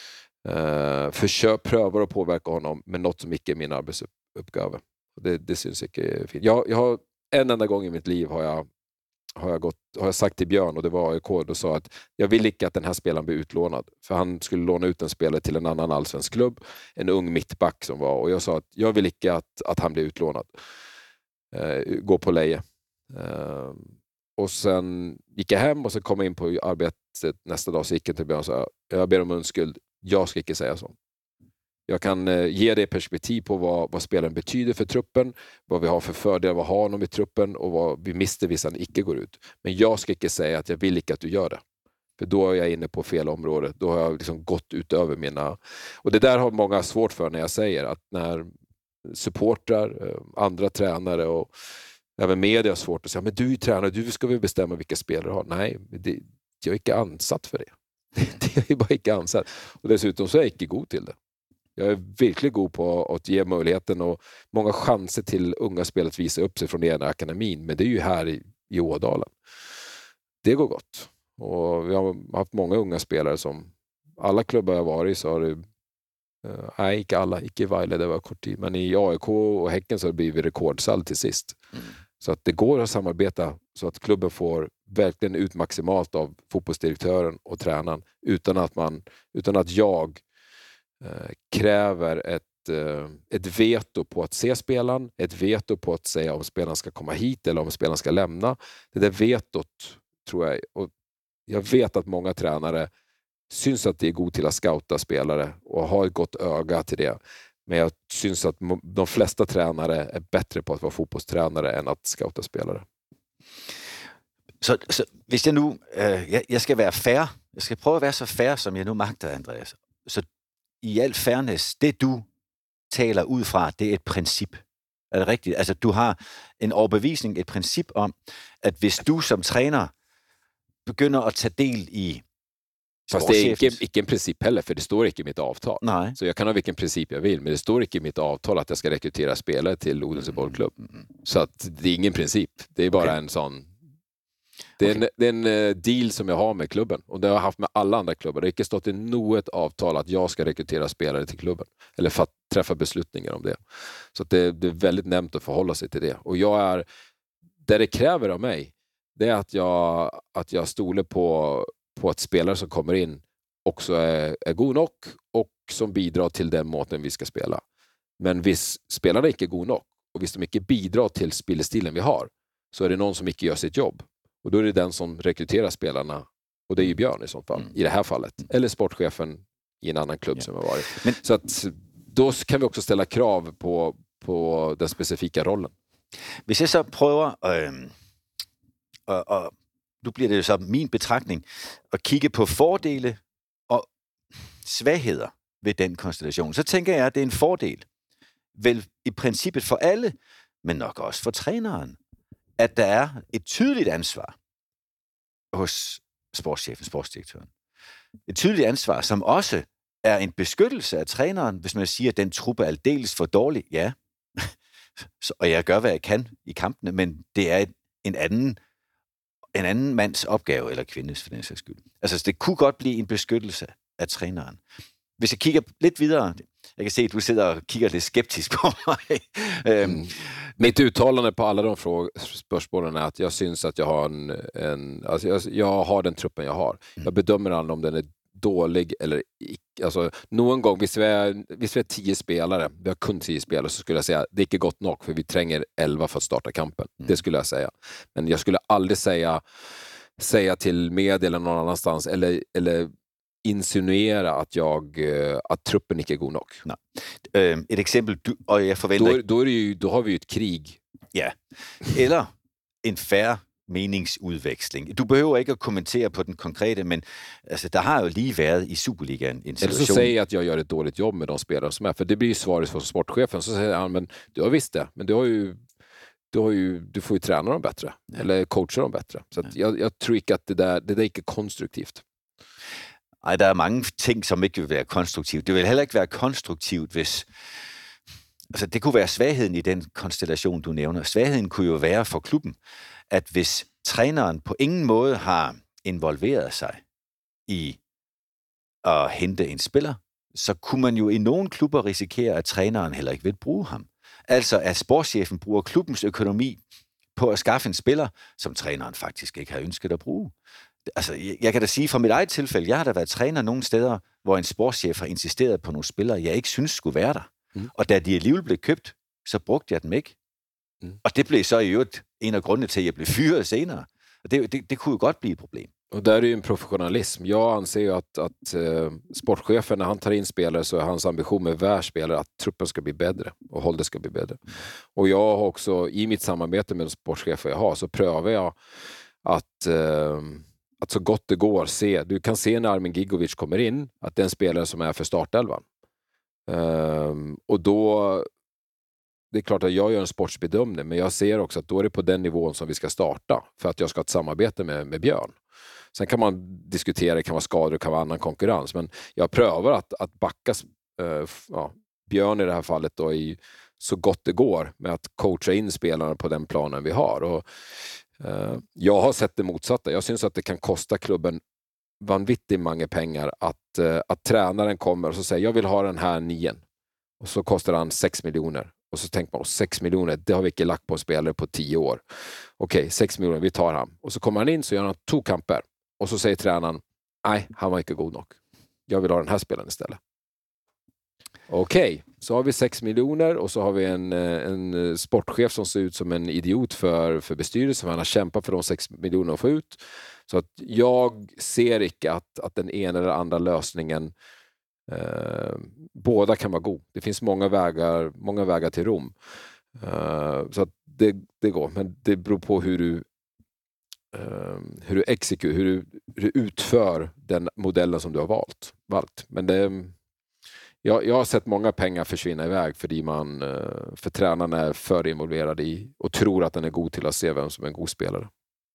Uh, försök, prövar att påverka honom med något som icke är min arbetsuppgave. Det, det syns inte fint. Jag, jag har, en enda gång i mitt liv har jag, har jag, gått, har jag sagt till Björn, och det var A I K, och sa att jag vill inte att den här spelaren blir utlånad. För han skulle låna ut en spelare till en annan allsvensk klubb. En ung mittback som var. Och jag sa att jag vill inte att, att han blir utlånad. Uh, gå på leje. Uh, och sen gick jag hem och så kom jag in på arbetet nästa dag. Så gick jag till Björn och sa, jag ber om unskuld. Jag ska inte säga så. Jag kan eh, ge dig perspektiv på vad, vad spelaren betyder för truppen, vad vi har för fördelar, vad har honom i truppen och vad vi mister hvis han icke går ut. Men jag ska inte säga att jag vill inte att du gör det. För då är jag inne på fel område. Då har jag liksom gått utöver mina... Och det där har många svårt för när jag säger att när supportrar, andra tränare och även media har svårt att säga, men du är tränare, du ska väl bestämma vilka spelare du har. Nej, det, jag är inte ansatt för det. Det är bara inte ansatt. Och dessutom så är jag inte god till det. Jag är verkligen god på att ge möjligheten och många chanser till unga spelare att visa upp sig från den ena akademin. Men det är ju här i, i Ådalen. Det går gott. Och vi har haft många unga spelare som alla klubbar jag varit i så har det uh, nej, inte alla, inte i Vejle, det var kort tid. Men i A I K och Häcken så har det blivit rekordsall till sist. Mm. Så att det går att samarbeta så att klubben får verkligen ut maximalt av fotbollsdirektören och tränaren utan att man, utan att jag eh, kräver ett, eh, ett veto på att se spelaren, ett veto på att säga om spelaren ska komma hit eller om spelaren ska lämna. Det där vetot tror jag, och jag vet att många tränare syns att det är god till att scouta spelare och har ett gott öga till det. Men jag syns att de flesta tränare är bättre på att vara fotbollstränare än att scouta spelare. Så, så hvis jeg nu, øh, jeg, jeg skal være fair, jeg skal prøve at være så fair, som jeg nu magter, Andreas. Så i al fairness, det du taler ud fra, det er et princip. Er det rigtigt? Altså du har en overbevisning, et princip om, at hvis du som træner begynder at tage del i Fast det är inte, inte en princip heller, för det står inte i mitt avtal. Nej. Så jag kan ha vilken princip jag vill, men det står inte i mitt avtal att jag ska rekrytera spelare till Odense bollklubb. Mm. Så att det är ingen princip. Det är bara okay. en sån... Det är, okay. en, det är en uh, deal som jag har med klubben. Och det har jag haft med alla andra klubbar. Det har inte stått i något avtal att jag ska rekrytera spelare till klubben. Eller för att träffa beslutningar om det. Så att det, det är väldigt nämnt att förhålla sig till det. Och jag är... Det det kräver av mig, det är att jag, att jag stoler på... på att spelare som kommer in också är, är god nog och som bidrar till den måten vi ska spela. Men hvis spelarna inte är god nog och hvis de inte bidrar till spelstilen vi har, så är det någon som inte gör sitt jobb. Och då är det den som rekryterar spelarna, och det är ju Björn i sånt fall, mm. i det här fallet. Eller sportchefen i en annan klubb ja. som har varit. Men, så att då kan vi också ställa krav på, på den specifika rollen. Hvis jeg så prøver øh, øh, øh, nu bliver det jo så min betragtning, at kigge på fordele og svagheder ved den konstellation. Så tænker jeg, at det er en fordel, vel i princippet for alle, men nok også for træneren, at der er et tydeligt ansvar hos sportschefen, sportsdirektøren. Et tydeligt ansvar, som også er en beskyttelse af træneren, hvis man siger, at den truppe er aldeles for dårlig. Ja, og jeg gør, hvad jeg kan i kampene, men det er en anden en anden mands opgave, eller kvindes for den sags skyld. Altså, det kunne godt blive en beskyttelse af træneren. Hvis jeg kigger lidt videre, jeg kan se, at du sidder og kigger lidt skeptisk på mig. Mm. Mitt uttalande på alla de fråg- spörsmålen är att jag syns att jag har en, en alltså jag, jag har den truppen jag har. Mm. Jag bedömer aldrig om den är dålig eller ikke. Altså, noen gang, hvis vi, er, hvis vi er tio spelare, vi har kun tio spelare, så skulle jag säga det är inte gott nog, för vi tränger elva för att starta kampen. Mm. Det skulle jag säga. Men jag skulle aldrig säga, säga till media eller någon annanstans, eller, eller insinuera att, jag, att truppen ikke er god nok. Nej. Øh, et eksempel, du, og jeg forventer... Då, då, är det ju, då har vi ju ett krig. Ja, eller en fair meningsudveksling. Du behøver ikke at kommentere på den konkrete, men altså, der har jo lige været i Superligaen en situation... Eller så säger jag att jag gör ett dåligt jobb med de spelare som är, för det blir ju svaret för sportchefen, så säger han, men du har visst det, men du har ju du, har ju, du får ju träna dem bättre, ja. Eller coacha dem bättre. Så att jag, jag tror ikke, at det der, det der ikke er konstruktivt. Nej, der er mange ting, som ikke vil være konstruktivt. Det vil heller ikke være konstruktivt, hvis... Altså, det kunne være svagheden i den konstellation, du nævner. Svagheden kunne jo være for klubben, at hvis træneren på ingen måde har involveret sig i at hente en spiller, så kunne man jo i nogle klubber risikere, at træneren heller ikke vil bruge ham. Altså, at sportschefen bruger klubbens økonomi på at skaffe en spiller, som træneren faktisk ikke har ønsket at bruge. Altså, jeg kan da sige fra mit eget tilfælde, jeg har da været træner nogle steder, hvor en sportschef har insisteret på nogle spillere, jeg ikke synes skulle være der. Mm. Og da de alligevel blev købt, så brugte jeg dem ikke. Mm. Og det blev så i øvrigt en af grundene til, at jeg blev fyret senere. Og det, det, det kunne jo godt blive et problem. Och där är ju en professionalism. Jag anser ju att, att uh, sportchefen, när han tar in spelare, så är hans ambition med varje spelare att truppen ska bli bättre och hållet ska bli bättre. Mm. Och jag har också, i mitt samarbete med de sportchefer jag har, så prövar jag att, uh, att så gott det går se. Du kan se när Armin Gigovic kommer in, att det är en spelare som är för startelvan. Uh, och då... Det är klart att jag gör en sportsbedömning, men jag ser också att då är det på den nivån som vi ska starta för att jag ska ha ett samarbete med, med Björn. Sen kan man diskutera, det kan vara skador, det kan vara annan konkurrens, men jag prövar att, att backa äh, ja, Björn i det här fallet då i så gott det går med att coacha in spelarna på den planen vi har. Och, äh, jag har sett det motsatta. Jag syns att det kan kosta klubben vanvittigt många pengar att, äh, att tränaren kommer och så säger jag vill ha den här nien. Och så kostar han sex miljoner. Och så tänker man, sex miljoner, det har vi inte lagt på en spelare på tio år. Okej, okay, sex miljoner, vi tar han. Och så kommer han in, så gör han två kamper. Och så säger tränaren, nej, han var inte god nog. Jag vill ha den här spelaren istället. Okej, okay, så har vi sex miljoner och så har vi en, en sportchef som ser ut som en idiot för, för bestyrelsen. Han har kämpat för de sex miljonerna att få ut. Så att jag ser inte att, att den ena eller andra lösningen Uh, båda kan vara god. Det finns många vägar, många vägar till Rom. Uh, så att det, det går. Men det beror på hur du uh, hur du exekuterar, hur du, hur du utför den modellen som du har valt. valt. Men det, jag, jag har sett många pengar försvinna iväg för man uh, för tränaren är för involverad i och tror att den är god till att se vem som är en god spelare.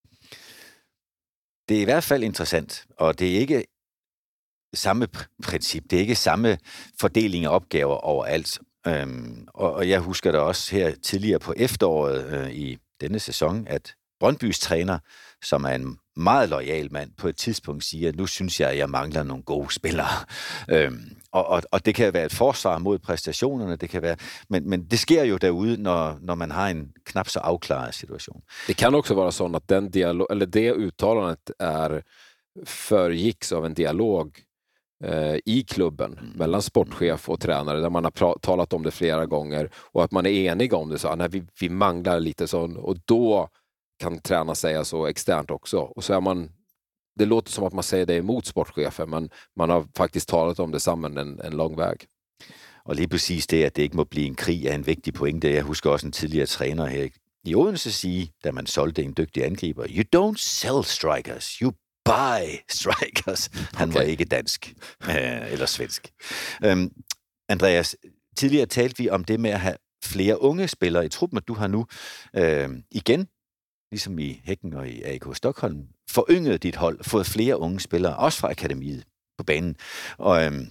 Det är i hvert fall intressant, og det er ikke samme princip. Det er ikke samme fordeling af opgaver overalt. Øhm, og, og jeg husker da også her tidligere på efteråret øh, i denne sæson, at Brøndbys træner, som er en meget loyal mand, på et tidspunkt siger, nu synes jeg, at jeg mangler nogle gode spillere. Øhm, og, og, og det kan være et forsvar mod præstationerne, det kan være, men, men det sker jo derude, når, når man har en knap så afklaret situation. Det kan också vara så att den dialog, eller det uttalandet är föregicks av en dialog i klubben mm. mellan sportchef och tränare där man har pra- talat om det flera gånger och att man är enig om det, så nej, vi, vi manglar lite sån, och då kan tränaren säga så externt också, och så är man, det låter som att man säger det emot sportchefen, men man har faktiskt talat om det sammen en, en lång väg. Og lige præcis det, at det ikke må blive en krig, er en vigtig pointe. Jeg husker også en tidligere træner her i Odense sige, da man solgte en dygtig angriber, you don't sell strikers, you buy strikers. Han okay. var ikke dansk øh, eller svensk. Øhm, Andreas, tidligere talte vi om det med at have flere unge spillere i truppen, og du har nu øh, igen, ligesom i Hækken og i A K Stockholm, forynget dit hold, fået flere unge spillere, også fra akademiet på banen. Og øhm,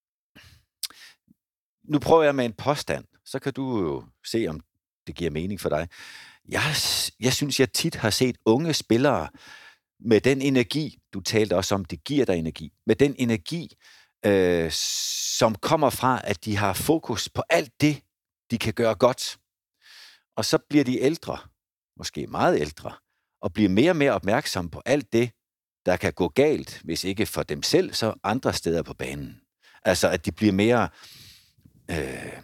nu prøver jeg med en påstand, så kan du jo se, om det giver mening for dig. Jeg, jeg synes, jeg tit har set unge spillere med den energi, du talte også om, det giver dig energi, med den energi, øh, som kommer fra, at de har fokus på alt det, de kan gøre godt. Og så bliver de ældre, måske meget ældre, og bliver mere og mere opmærksomme på alt det, der kan gå galt, hvis ikke for dem selv, så andre steder på banen. Altså, at de bliver mere øh,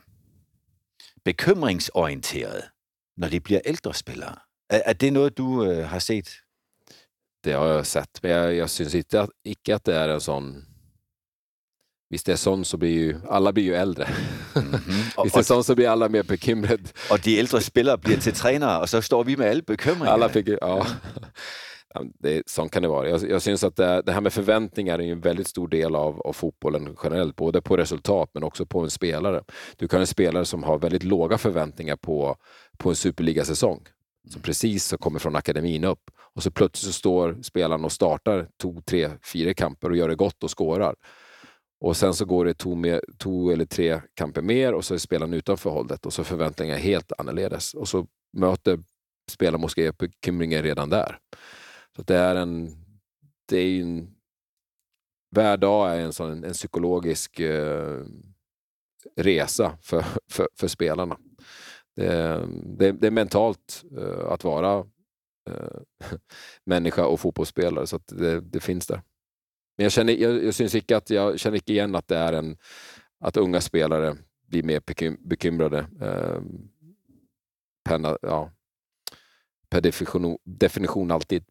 bekymringsorienterede, når de bliver ældre spillere. Er, er det noget, du øh, har set? Det har jag sett, men jag, jag syns inte att, icke att det är en sån... Visst det är sån så blir ju... Alla blir ju äldre. Mm-hmm. Visst det är sån så blir alla mer bekymrade. Och de äldre spelare blir till tränare och så står vi med alla bekymringar. Alla fick, ja. Det, sånt kan det vara. Jag, jag syns att det, det här med förväntningar är en väldigt stor del av, av fotbollen generellt, både på resultat men också på en spelare. Du kan ha en spelare som har väldigt låga förväntningar på, på en superligasäsong. Som precis så kommer från akademin upp. Och så plötsligt så står spelaren och startar två, tre, fyra kamper och gör det gott och skårar. Och sen så går det två, med, två eller tre kamper mer och så är spelaren utanför hållet och så förväntningar är helt annorledes. Och så möter spelaren måske bekymringar redan där. Så det är en... Det är en hver dag är en sån en psykologisk eh, resa för, för, för spelarna. Det, det, det är mentalt uh, att vara uh, människa och fotbollsspelare, så att det, det finns där. Men jag känner, jag, jag syns inte att jag känner inte igen att det är en att unga spelare blir mer bekym, bekymrade uh, per, ja, per definition, definition alltid.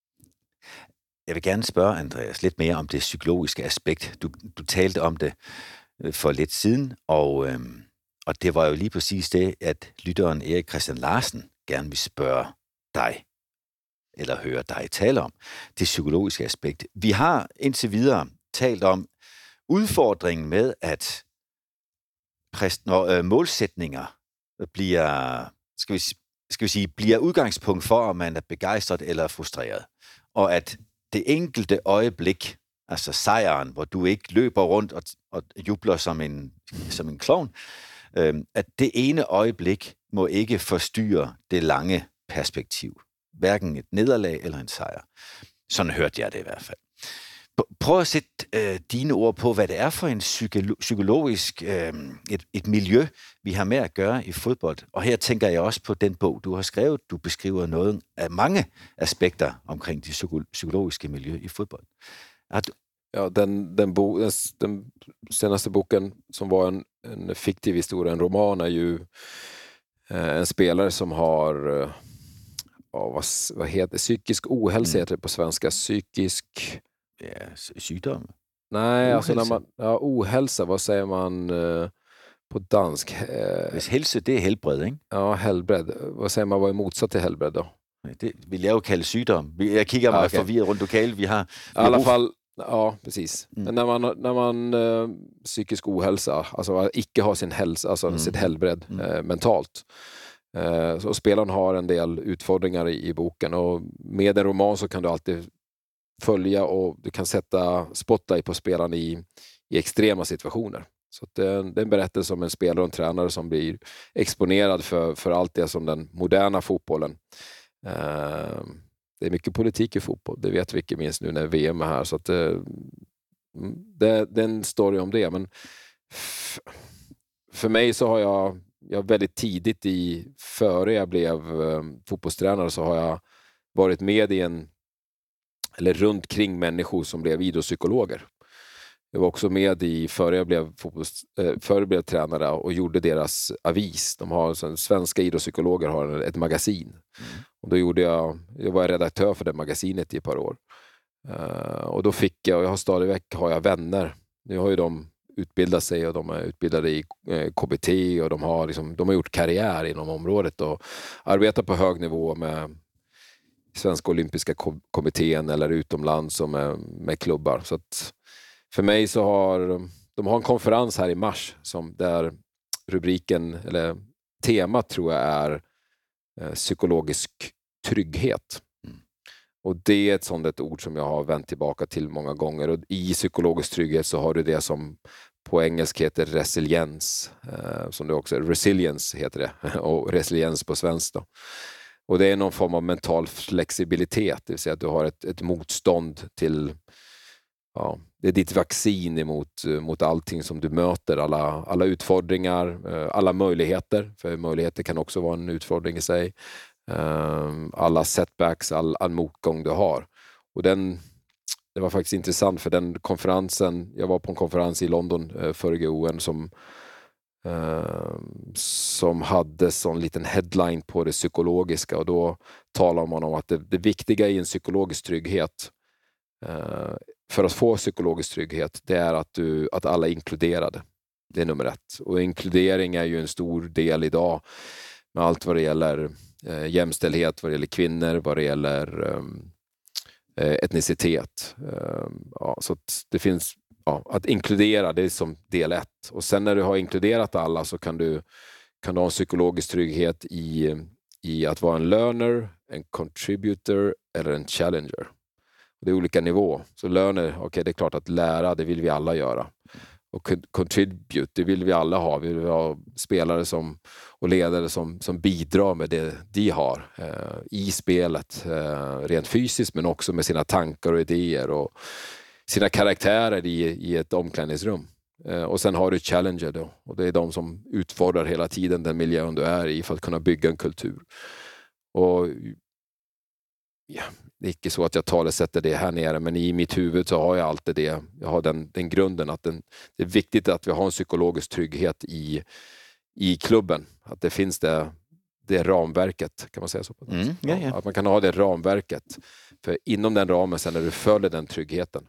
Jeg vil gerne spørge Andreas lidt mere om det psykologiske aspekt. Du, du talte om det for lidt siden, og øhm, Og det var jo lige præcis det, at lytteren Erik Christian Larsen gerne vil spørge dig, eller høre dig tale om, det psykologiske aspekt. Vi har indtil videre talt om udfordringen med, at præst, når øh, målsætninger bliver, skal vi, skal vi sige, bliver udgangspunkt for, om man er begejstret eller frustreret. Og at det enkelte øjeblik, altså sejren, hvor du ikke løber rundt og, og jubler som en, som en klovn, at det ene øjeblik må ikke forstyrre det lange perspektiv. Hverken et nederlag eller en sejr. Sådan hørte jeg det i hvert fald. Prøv at sætte øh, dine ord på, hvad det er for en psykolo- psykologisk øh, et, et miljø, vi har med at gøre i fodbold. Og her tænker jeg også på den bog, du har skrevet. Du beskriver noget af mange aspekter omkring det psyko- psykologiske miljø i fodbold. Er du, Ja, den, den, bo, den, den senaste boken som var en, en fiktiv historia, en roman, är ju eh, en spelare som har eh, vad, vad heter psykisk ohälsa, mm. heter det på svenska, psykisk ja, sygdom. Nej, ohälsa. Alltså när man ja, ohälsa, vad säger man eh, på dansk? Eh, Hvis helse, det er helbred, ikke? Ja, helbred. Vad säger man, vad är motsatt till helbred då? Det vil jeg jo kalde sygdom. Jeg kigger mig okay. forvirret rundt lokalt. Vi har... Vi I alla fall... Ja, precis. Mm. Men när man, när man eh, psykisk ohälsa, alltså icke har sin hälsa, alltså mm. sitt helbred mm. eh, mentalt. Eh, så spelaren har en del utfordringar i, i boken, och med en roman så kan du alltid följa och du kan sätta spotlight på spelaren i, i extrema situationer. Så det är, en, det är en berättelse om en spelare och en tränare som blir exponerad för, för allt det som den moderna fotbollen. Eh, Det är mycket politik i fotboll, det vet vi inte minst nu när V M är här, så att det, det, det är en story om det. Men f- för mig så har jag, jag väldigt tidigt i, före jag blev um, fotbollstränare, så har jag varit med i en, eller runt kring människor som blev idrottspsykologer. Jag var också med i, före jag blev, fotbolls, äh, före jag blev tränare och gjorde deras avis. De har, så, svenska idrottspsykologer har ett magasin. Mm. Och då gjorde jag, jag var redaktör för det magasinet i ett par år. Uh, och då fick jag, och jag har stadigväck har jag vänner. Nu har ju de utbildat sig och de är utbildade i eh, K B T, och de har, liksom, de har gjort karriär inom området och arbetar på hög nivå med Svenska olympiska kommittén eller utomlands som är med klubbar. Så att för mig så har de har en konferens här i mars som där rubriken eller temat tror jag är eh, psykologisk trygghet. Mm. Och det är ett sånt ett ord som jag har vänt tillbaka till många gånger, och i psykologisk trygghet så har du det som på engelska heter resiliens, eh, som det också är, resilience heter det, och resiliens på svenska då. Och det är någon form av mental flexibilitet, det vill säga att du har ett, ett motstånd till, ja, det är ditt vaccin emot mot allting som du möter, alla, alla utfordringar, alla möjligheter, för möjligheter kan också vara en utfordring i sig, alla setbacks, all, all motgång du har. Och den, det var faktiskt intressant för den konferensen, jag var på en konferens i London eh, före O N som Uh, som hade sån liten headline på det psykologiska, och då talar man om att det, det viktiga i en psykologisk trygghet uh, för att få psykologisk trygghet, det är att, du, att alla är inkluderade. Det är nummer ett. Och inkludering är ju en stor del idag med allt vad det gäller uh, jämställdhet, vad det gäller kvinnor, vad det gäller um, etnicitet. Uh, ja, så att det finns Ja, att inkludera, det är som del ett. Och sen när du har inkluderat alla så kan du, kan du ha en psykologisk trygghet i, i att vara en learner, en contributor eller en challenger. Det är olika nivå. Så learner, okej, okay, det är klart att lära, det vill vi alla göra. Och contribute, det vill vi alla ha. Vi vill ha spelare som, och ledare som, som bidrar med det de har eh, i spelet. Eh, rent fysiskt, men också med sina tankar och idéer och sina karaktärer i, i ett omklädningsrum. Eh, och sen har du challenger då. Och det är de som utfordrar hela tiden den miljön du är i för att kunna bygga en kultur. Och ja, det är inte så att jag talesätter det här nere, men i mitt huvud så har jag alltid det. Jag har den, den grunden att den, det är viktigt att vi har en psykologisk trygghet i, i klubben. Att det finns det, det ramverket, kan man säga så? På mm, ja, ja. Att man kan ha det ramverket. För inom den ramen sen när du följer den tryggheten.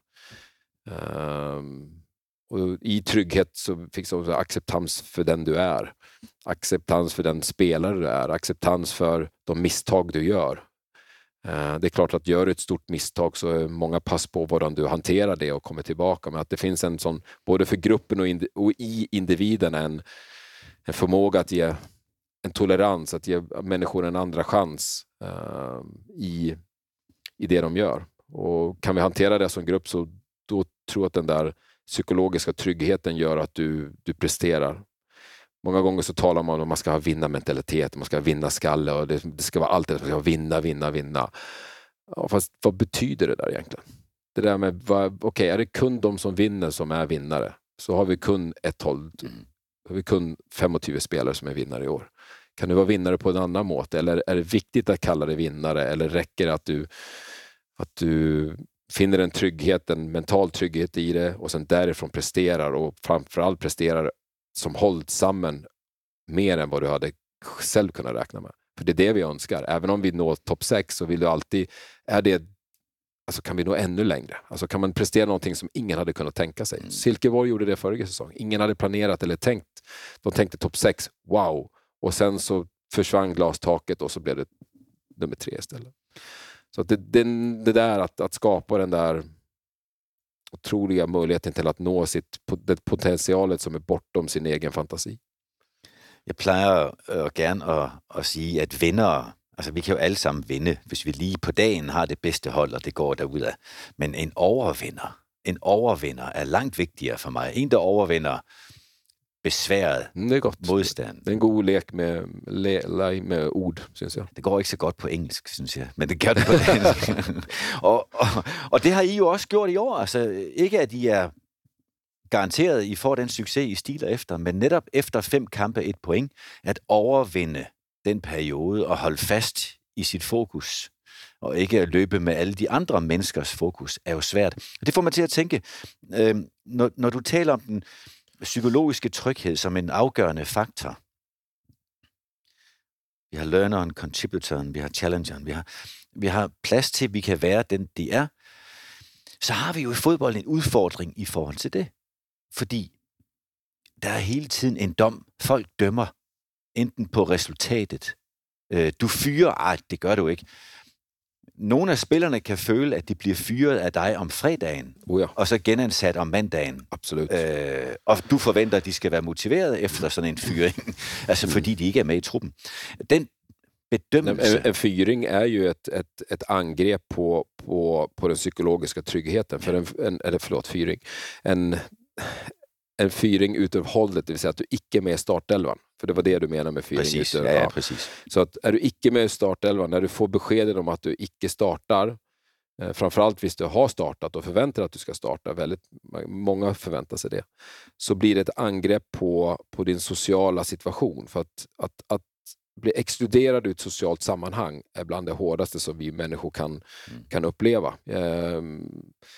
Um, och i trygghet så finns också acceptans för den du är. Acceptans för den spelare du är. Acceptans för de misstag du gör. Uh, det är klart att gör du ett stort misstag så är många pass på hvordan du hanterar det och kommer tillbaka. Men att det finns en sån, både för gruppen och, ind- och i individen en, en förmåga att ge en tolerans, att ge människor en andra chans uh, i, i det de gör. Och kan vi hantera det som grupp så då tror jag att den där psykologiska tryggheten gör att du, du presterar. Många gånger så talar man om att man ska ha vinna-mentalitet, man ska vinna skalle och det, det ska vara allt det, man ska vinna, vinna, vinna. Ja, fast vad betyder det där egentligen? Det där med, okej, okay, är det kun de som vinner som är vinnare? Så har vi kun ett håll, har vi kun tjugofem spelare som är vinnare i år. Kan du vara vinnare på en annan måte? Eller är det viktigt att kalla dig vinnare? Eller räcker det att du, att du finner en trygghet, en mental trygghet i det och sen därifrån presterar och framförallt presterar som hållit samman mer än vad du hade själv kunnat räkna med. För det är det vi önskar. Även om vi når topp sex så vill du alltid, är det, alltså kan vi nå ännu längre? Alltså kan man prestera någonting som ingen hade kunnat tänka sig? Mm. Silkeborg gjorde det förra säsong. Ingen hade planerat eller tänkt. De tänkte topp sex, wow. Och sen så försvann glastaket och så blev det nummer tre istället. Så att det, det, det där att, att skapa den där otroliga möjligheten till att nå sitt, det potentialet som är bortom sin egen fantasi. Jeg plejer øh, gerne at, at sige, at vindere, altså vi kan jo alle sammen vinde, hvis vi lige på dagen har det bedste hold, og det går derudad. Men en overvinder, en overvinder er langt vigtigere for mig. En, der overvinder besværet det er godt. modstand. Det er en god lek med, le, med ord, synes jeg. Det går ikke så godt på engelsk, synes jeg, men det gør det på dansk. og, og, og det har I jo også gjort i år. Altså ikke, at I er garanteret, I får den succes, I stiler efter, men netop efter fem kampe et point, at overvinde den periode og holde fast i sit fokus, og ikke at løbe med alle de andre menneskers fokus, er jo svært. Og det får mig til at tænke, øh, når, når du taler om den psykologiske tryghed som en afgørende faktor. Vi har learneren, contributoren, vi har challengeren, vi har, vi har plads til, at vi kan være den, de er. Så har vi jo i fodbold en udfordring i forhold til det. Fordi der er hele tiden en dom. Folk dømmer enten på resultatet. Du fyrer, ej, det gør du ikke. Nogle af spillerne kan føle, at de bliver fyret af dig om fredagen, oh ja. og så genansat om mandagen. Absolut. Øh, og du forventer, at de skal være motiveret efter sådan en fyring, altså fordi de ikke er med i truppen. Den bedømmelse... En, en fyring är ju ett, ett, ett angrepp på, på, på den psykologiska tryggheten. För en, en, eller förlåt, fyring. En, en fyring utav hållet, det vill säga att du icke är med i startelvan. För det var det du menar med fyring. Precis, utav, ja, ja, precis. Så att är du icke med i startelvan, när du får beskeden om att du icke startar, eh, framförallt hvis du har startat och förväntar att du ska starta, väldigt många förväntar sig det, så blir det ett angrepp på, på din sociala situation. För att, att, att bli exkluderad ur ett socialt sammanhang är bland det hårdaste som vi människor kan, mm. kan uppleva. Eh,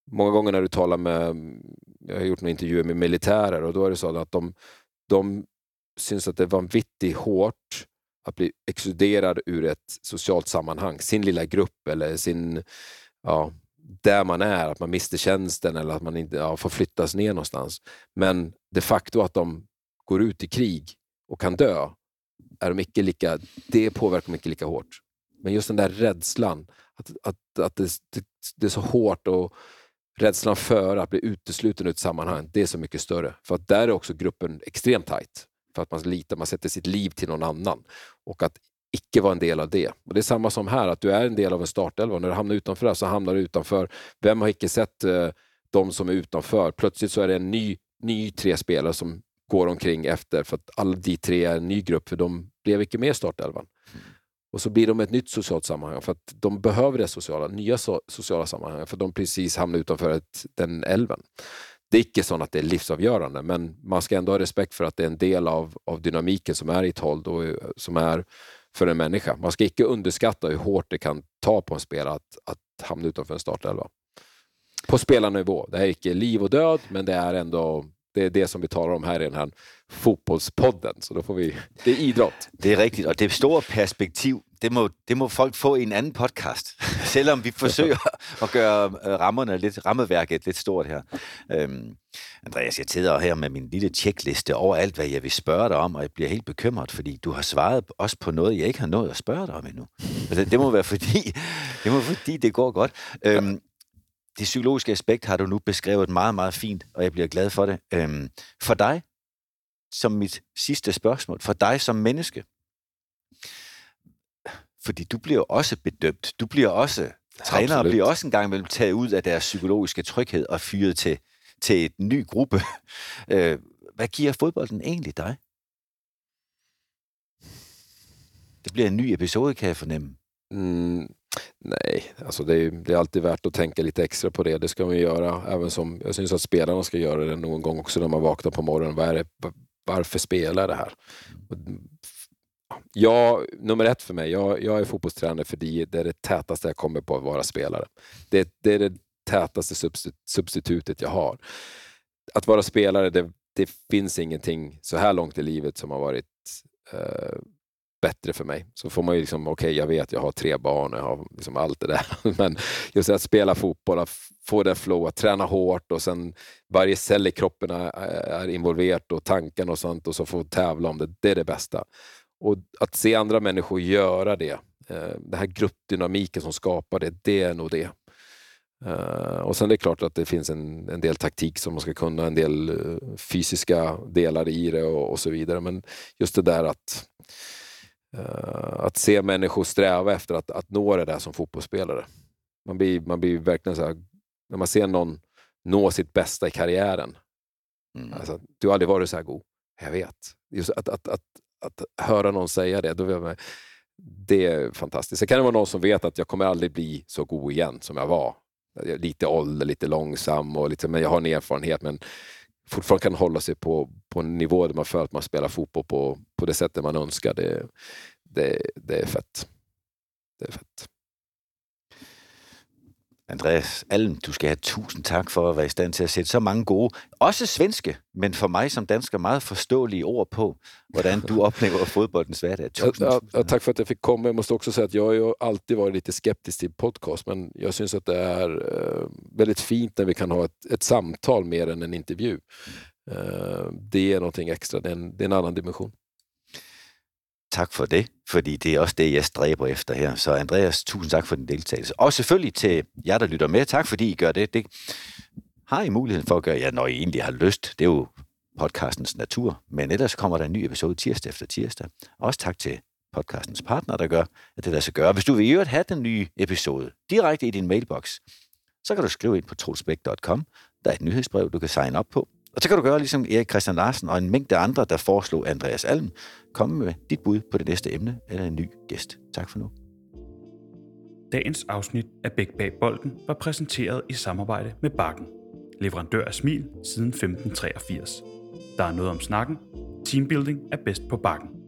många gånger när du talar med, jag har gjort några intervjuer med militärer och då är det så att de, de syns att det var vanvittigt hårt att bli exkluderad ur ett socialt sammanhang, sin lilla grupp eller sin, ja, där man är, att man mister tjänsten eller att man inte ja, får flyttas ner någonstans. Men de facto att de går ut i krig och kan dö, är de inte lika, det påverkar dem inte lika hårt. Men just den där rädslan, att, att, att det, det, det är så hårt och rädslan för att bli utesluten ur ett sammanhang, det är så mycket större. För att där är också gruppen extremt tajt. För att man litar, man sätter sitt liv till någon annan. Och att icke vara en del av det. Och det är samma som här, att du är en del av en startelva. När du hamnar utanför det så hamnar du utanför. Vem har inte sett eh, de som är utanför? Plötsligt så är det en ny, ny tre spelare som går omkring efter. För att alla de tre är en ny grupp, för de blev inte med i startelvan. Mm. Och så blir de ett nytt socialt sammanhang. För att de behöver det sociala, nya so- sociala sammanhang. För de precis hamnar utanför ett, den elven. Det är inte så att det är livsavgörande, men man ska ändå ha respekt för att det är en del av, av dynamiken som är i ett håll och som är för en människa. Man ska inte underskatta hur hårt det kan ta på en spelare att, att hamna utanför en startelva. På spelarnivå. Det är inte liv och död, men det är ändå det är det som vi talar om här i den här fotbollspodden. Så då får vi, det är idrott. Det är riktigt, och det stora perspektiv, det må, det må folk få i en anden podcast. Selvom vi forsøger at gøre rammerne lidt, rammeværket lidt stort her. Øhm, Andreas, jeg sidder her med min lille checkliste over alt, hvad jeg vil spørge dig om, og jeg bliver helt bekymret, fordi du har svaret også på noget, jeg ikke har nået at spørge dig om endnu. Altså, det må være fordi, det må være fordi, det går godt. Øhm, det psykologiske aspekt har du nu beskrevet meget, meget fint, og jeg bliver glad for det. Øhm, for dig, som mit sidste spørgsmål, for dig som menneske, fordi du bliver også bedømt, du bliver også træner og bliver også en gang imellem taget ud af deres psykologiske tryghed og fyret til, til et ny gruppe. Øh, hvad giver fodbolden egentlig dig? Det bliver en ny episode, kan jeg fornemme. Mm, nej, alltså det är, det är alltid värt att tänka lite extra på det. Det ska man göra, även som jag syns att spelarna ska göra det någon gång också när man vaknar på morgonen. Vad är det, varför spelar det här? Ja, nummer ett för mig, jag, jag är fotbollstränare för det, det är det tätaste jag kommer på att vara spelare. Det, det är det tätaste substitutet jag har. Att vara spelare, det, det finns ingenting så här långt i livet som har varit eh, bättre för mig. Så får man ju liksom, okej, okay, jag vet jag har tre barn, jag har liksom allt det där. Men just att spela fotboll, att få det flow, att träna hårt och sen varje cell i kroppen är, är involverat och tanken och sånt och så få tävla om det, det är det bästa. Och att se andra människor göra det, eh, den här gruppdynamiken som skapar det, det är nog det. Uh, och sen är det klart att det finns en, en del taktik som man ska kunna, en del uh, fysiska delar i det och, och så vidare. Men just det där att uh, att se människor sträva efter att, att nå det där som fotbollsspelare. Man blir, man blir verkligen så här, när man ser någon nå sitt bästa i karriären. Mm. Alltså, du har aldrig varit så här god. Jag vet. Just att, att, att, att höra någon säga det, då vill jag, det är fantastiskt. Det kan det vara någon som vet att jag kommer aldrig bli så god igen som jag var. Lite ålder, lite långsam och lite, men jag har en erfarenhet, men fortfarande kan hålla sig på, på en nivå där man för att man spelar fotboll på, på det sättet man önskar. Det, det, det är fett. Det är fett. Andreas Alm, du skal have tusind tak for at være i stand til at sætte så mange gode, også svenske, men for mig som dansker meget forståelige ord på, hvordan du oplever fodboldens hverdag. Tusind, ja, ja, tack för att jag fick komma. Jag måste också säga att jag har ju alltid varit lite skeptisk till podcast, men jag syns att det är uh, väldigt fint när vi kan ha ett, ett samtal mer än en intervju. Uh, det är någonting extra, det är en, det är en annan dimension. Tak for det, fordi det er også det, jeg stræber efter her. Så Andreas, tusind tak for din deltagelse. Og selvfølgelig til jer, der lytter med. Tak fordi I gør det. Det har I muligheden for at gøre, ja, når I egentlig har lyst. Det er jo podcastens natur. Men ellers kommer der en ny episode tirsdag efter tirsdag. Også tak til podcastens partner, der gør, at det lader sig gøre. Hvis du vil i øvrigt have den nye episode direkte i din mailbox, så kan du skrive ind på troelsbæk punktum com. Der er et nyhedsbrev, du kan signe op på. Og så kan du gøre ligesom Erik Christian Larsen og en mængde andre, der foreslog Andreas Alm, komme med dit bud på det næste emne eller en ny gæst. Tak for nu. Dagens afsnit af Bæk bag bolden var præsenteret i samarbejde med Bakken, leverandør af smil siden femten treogfirs. Der er noget om snakken. Teambuilding er bedst på Bakken.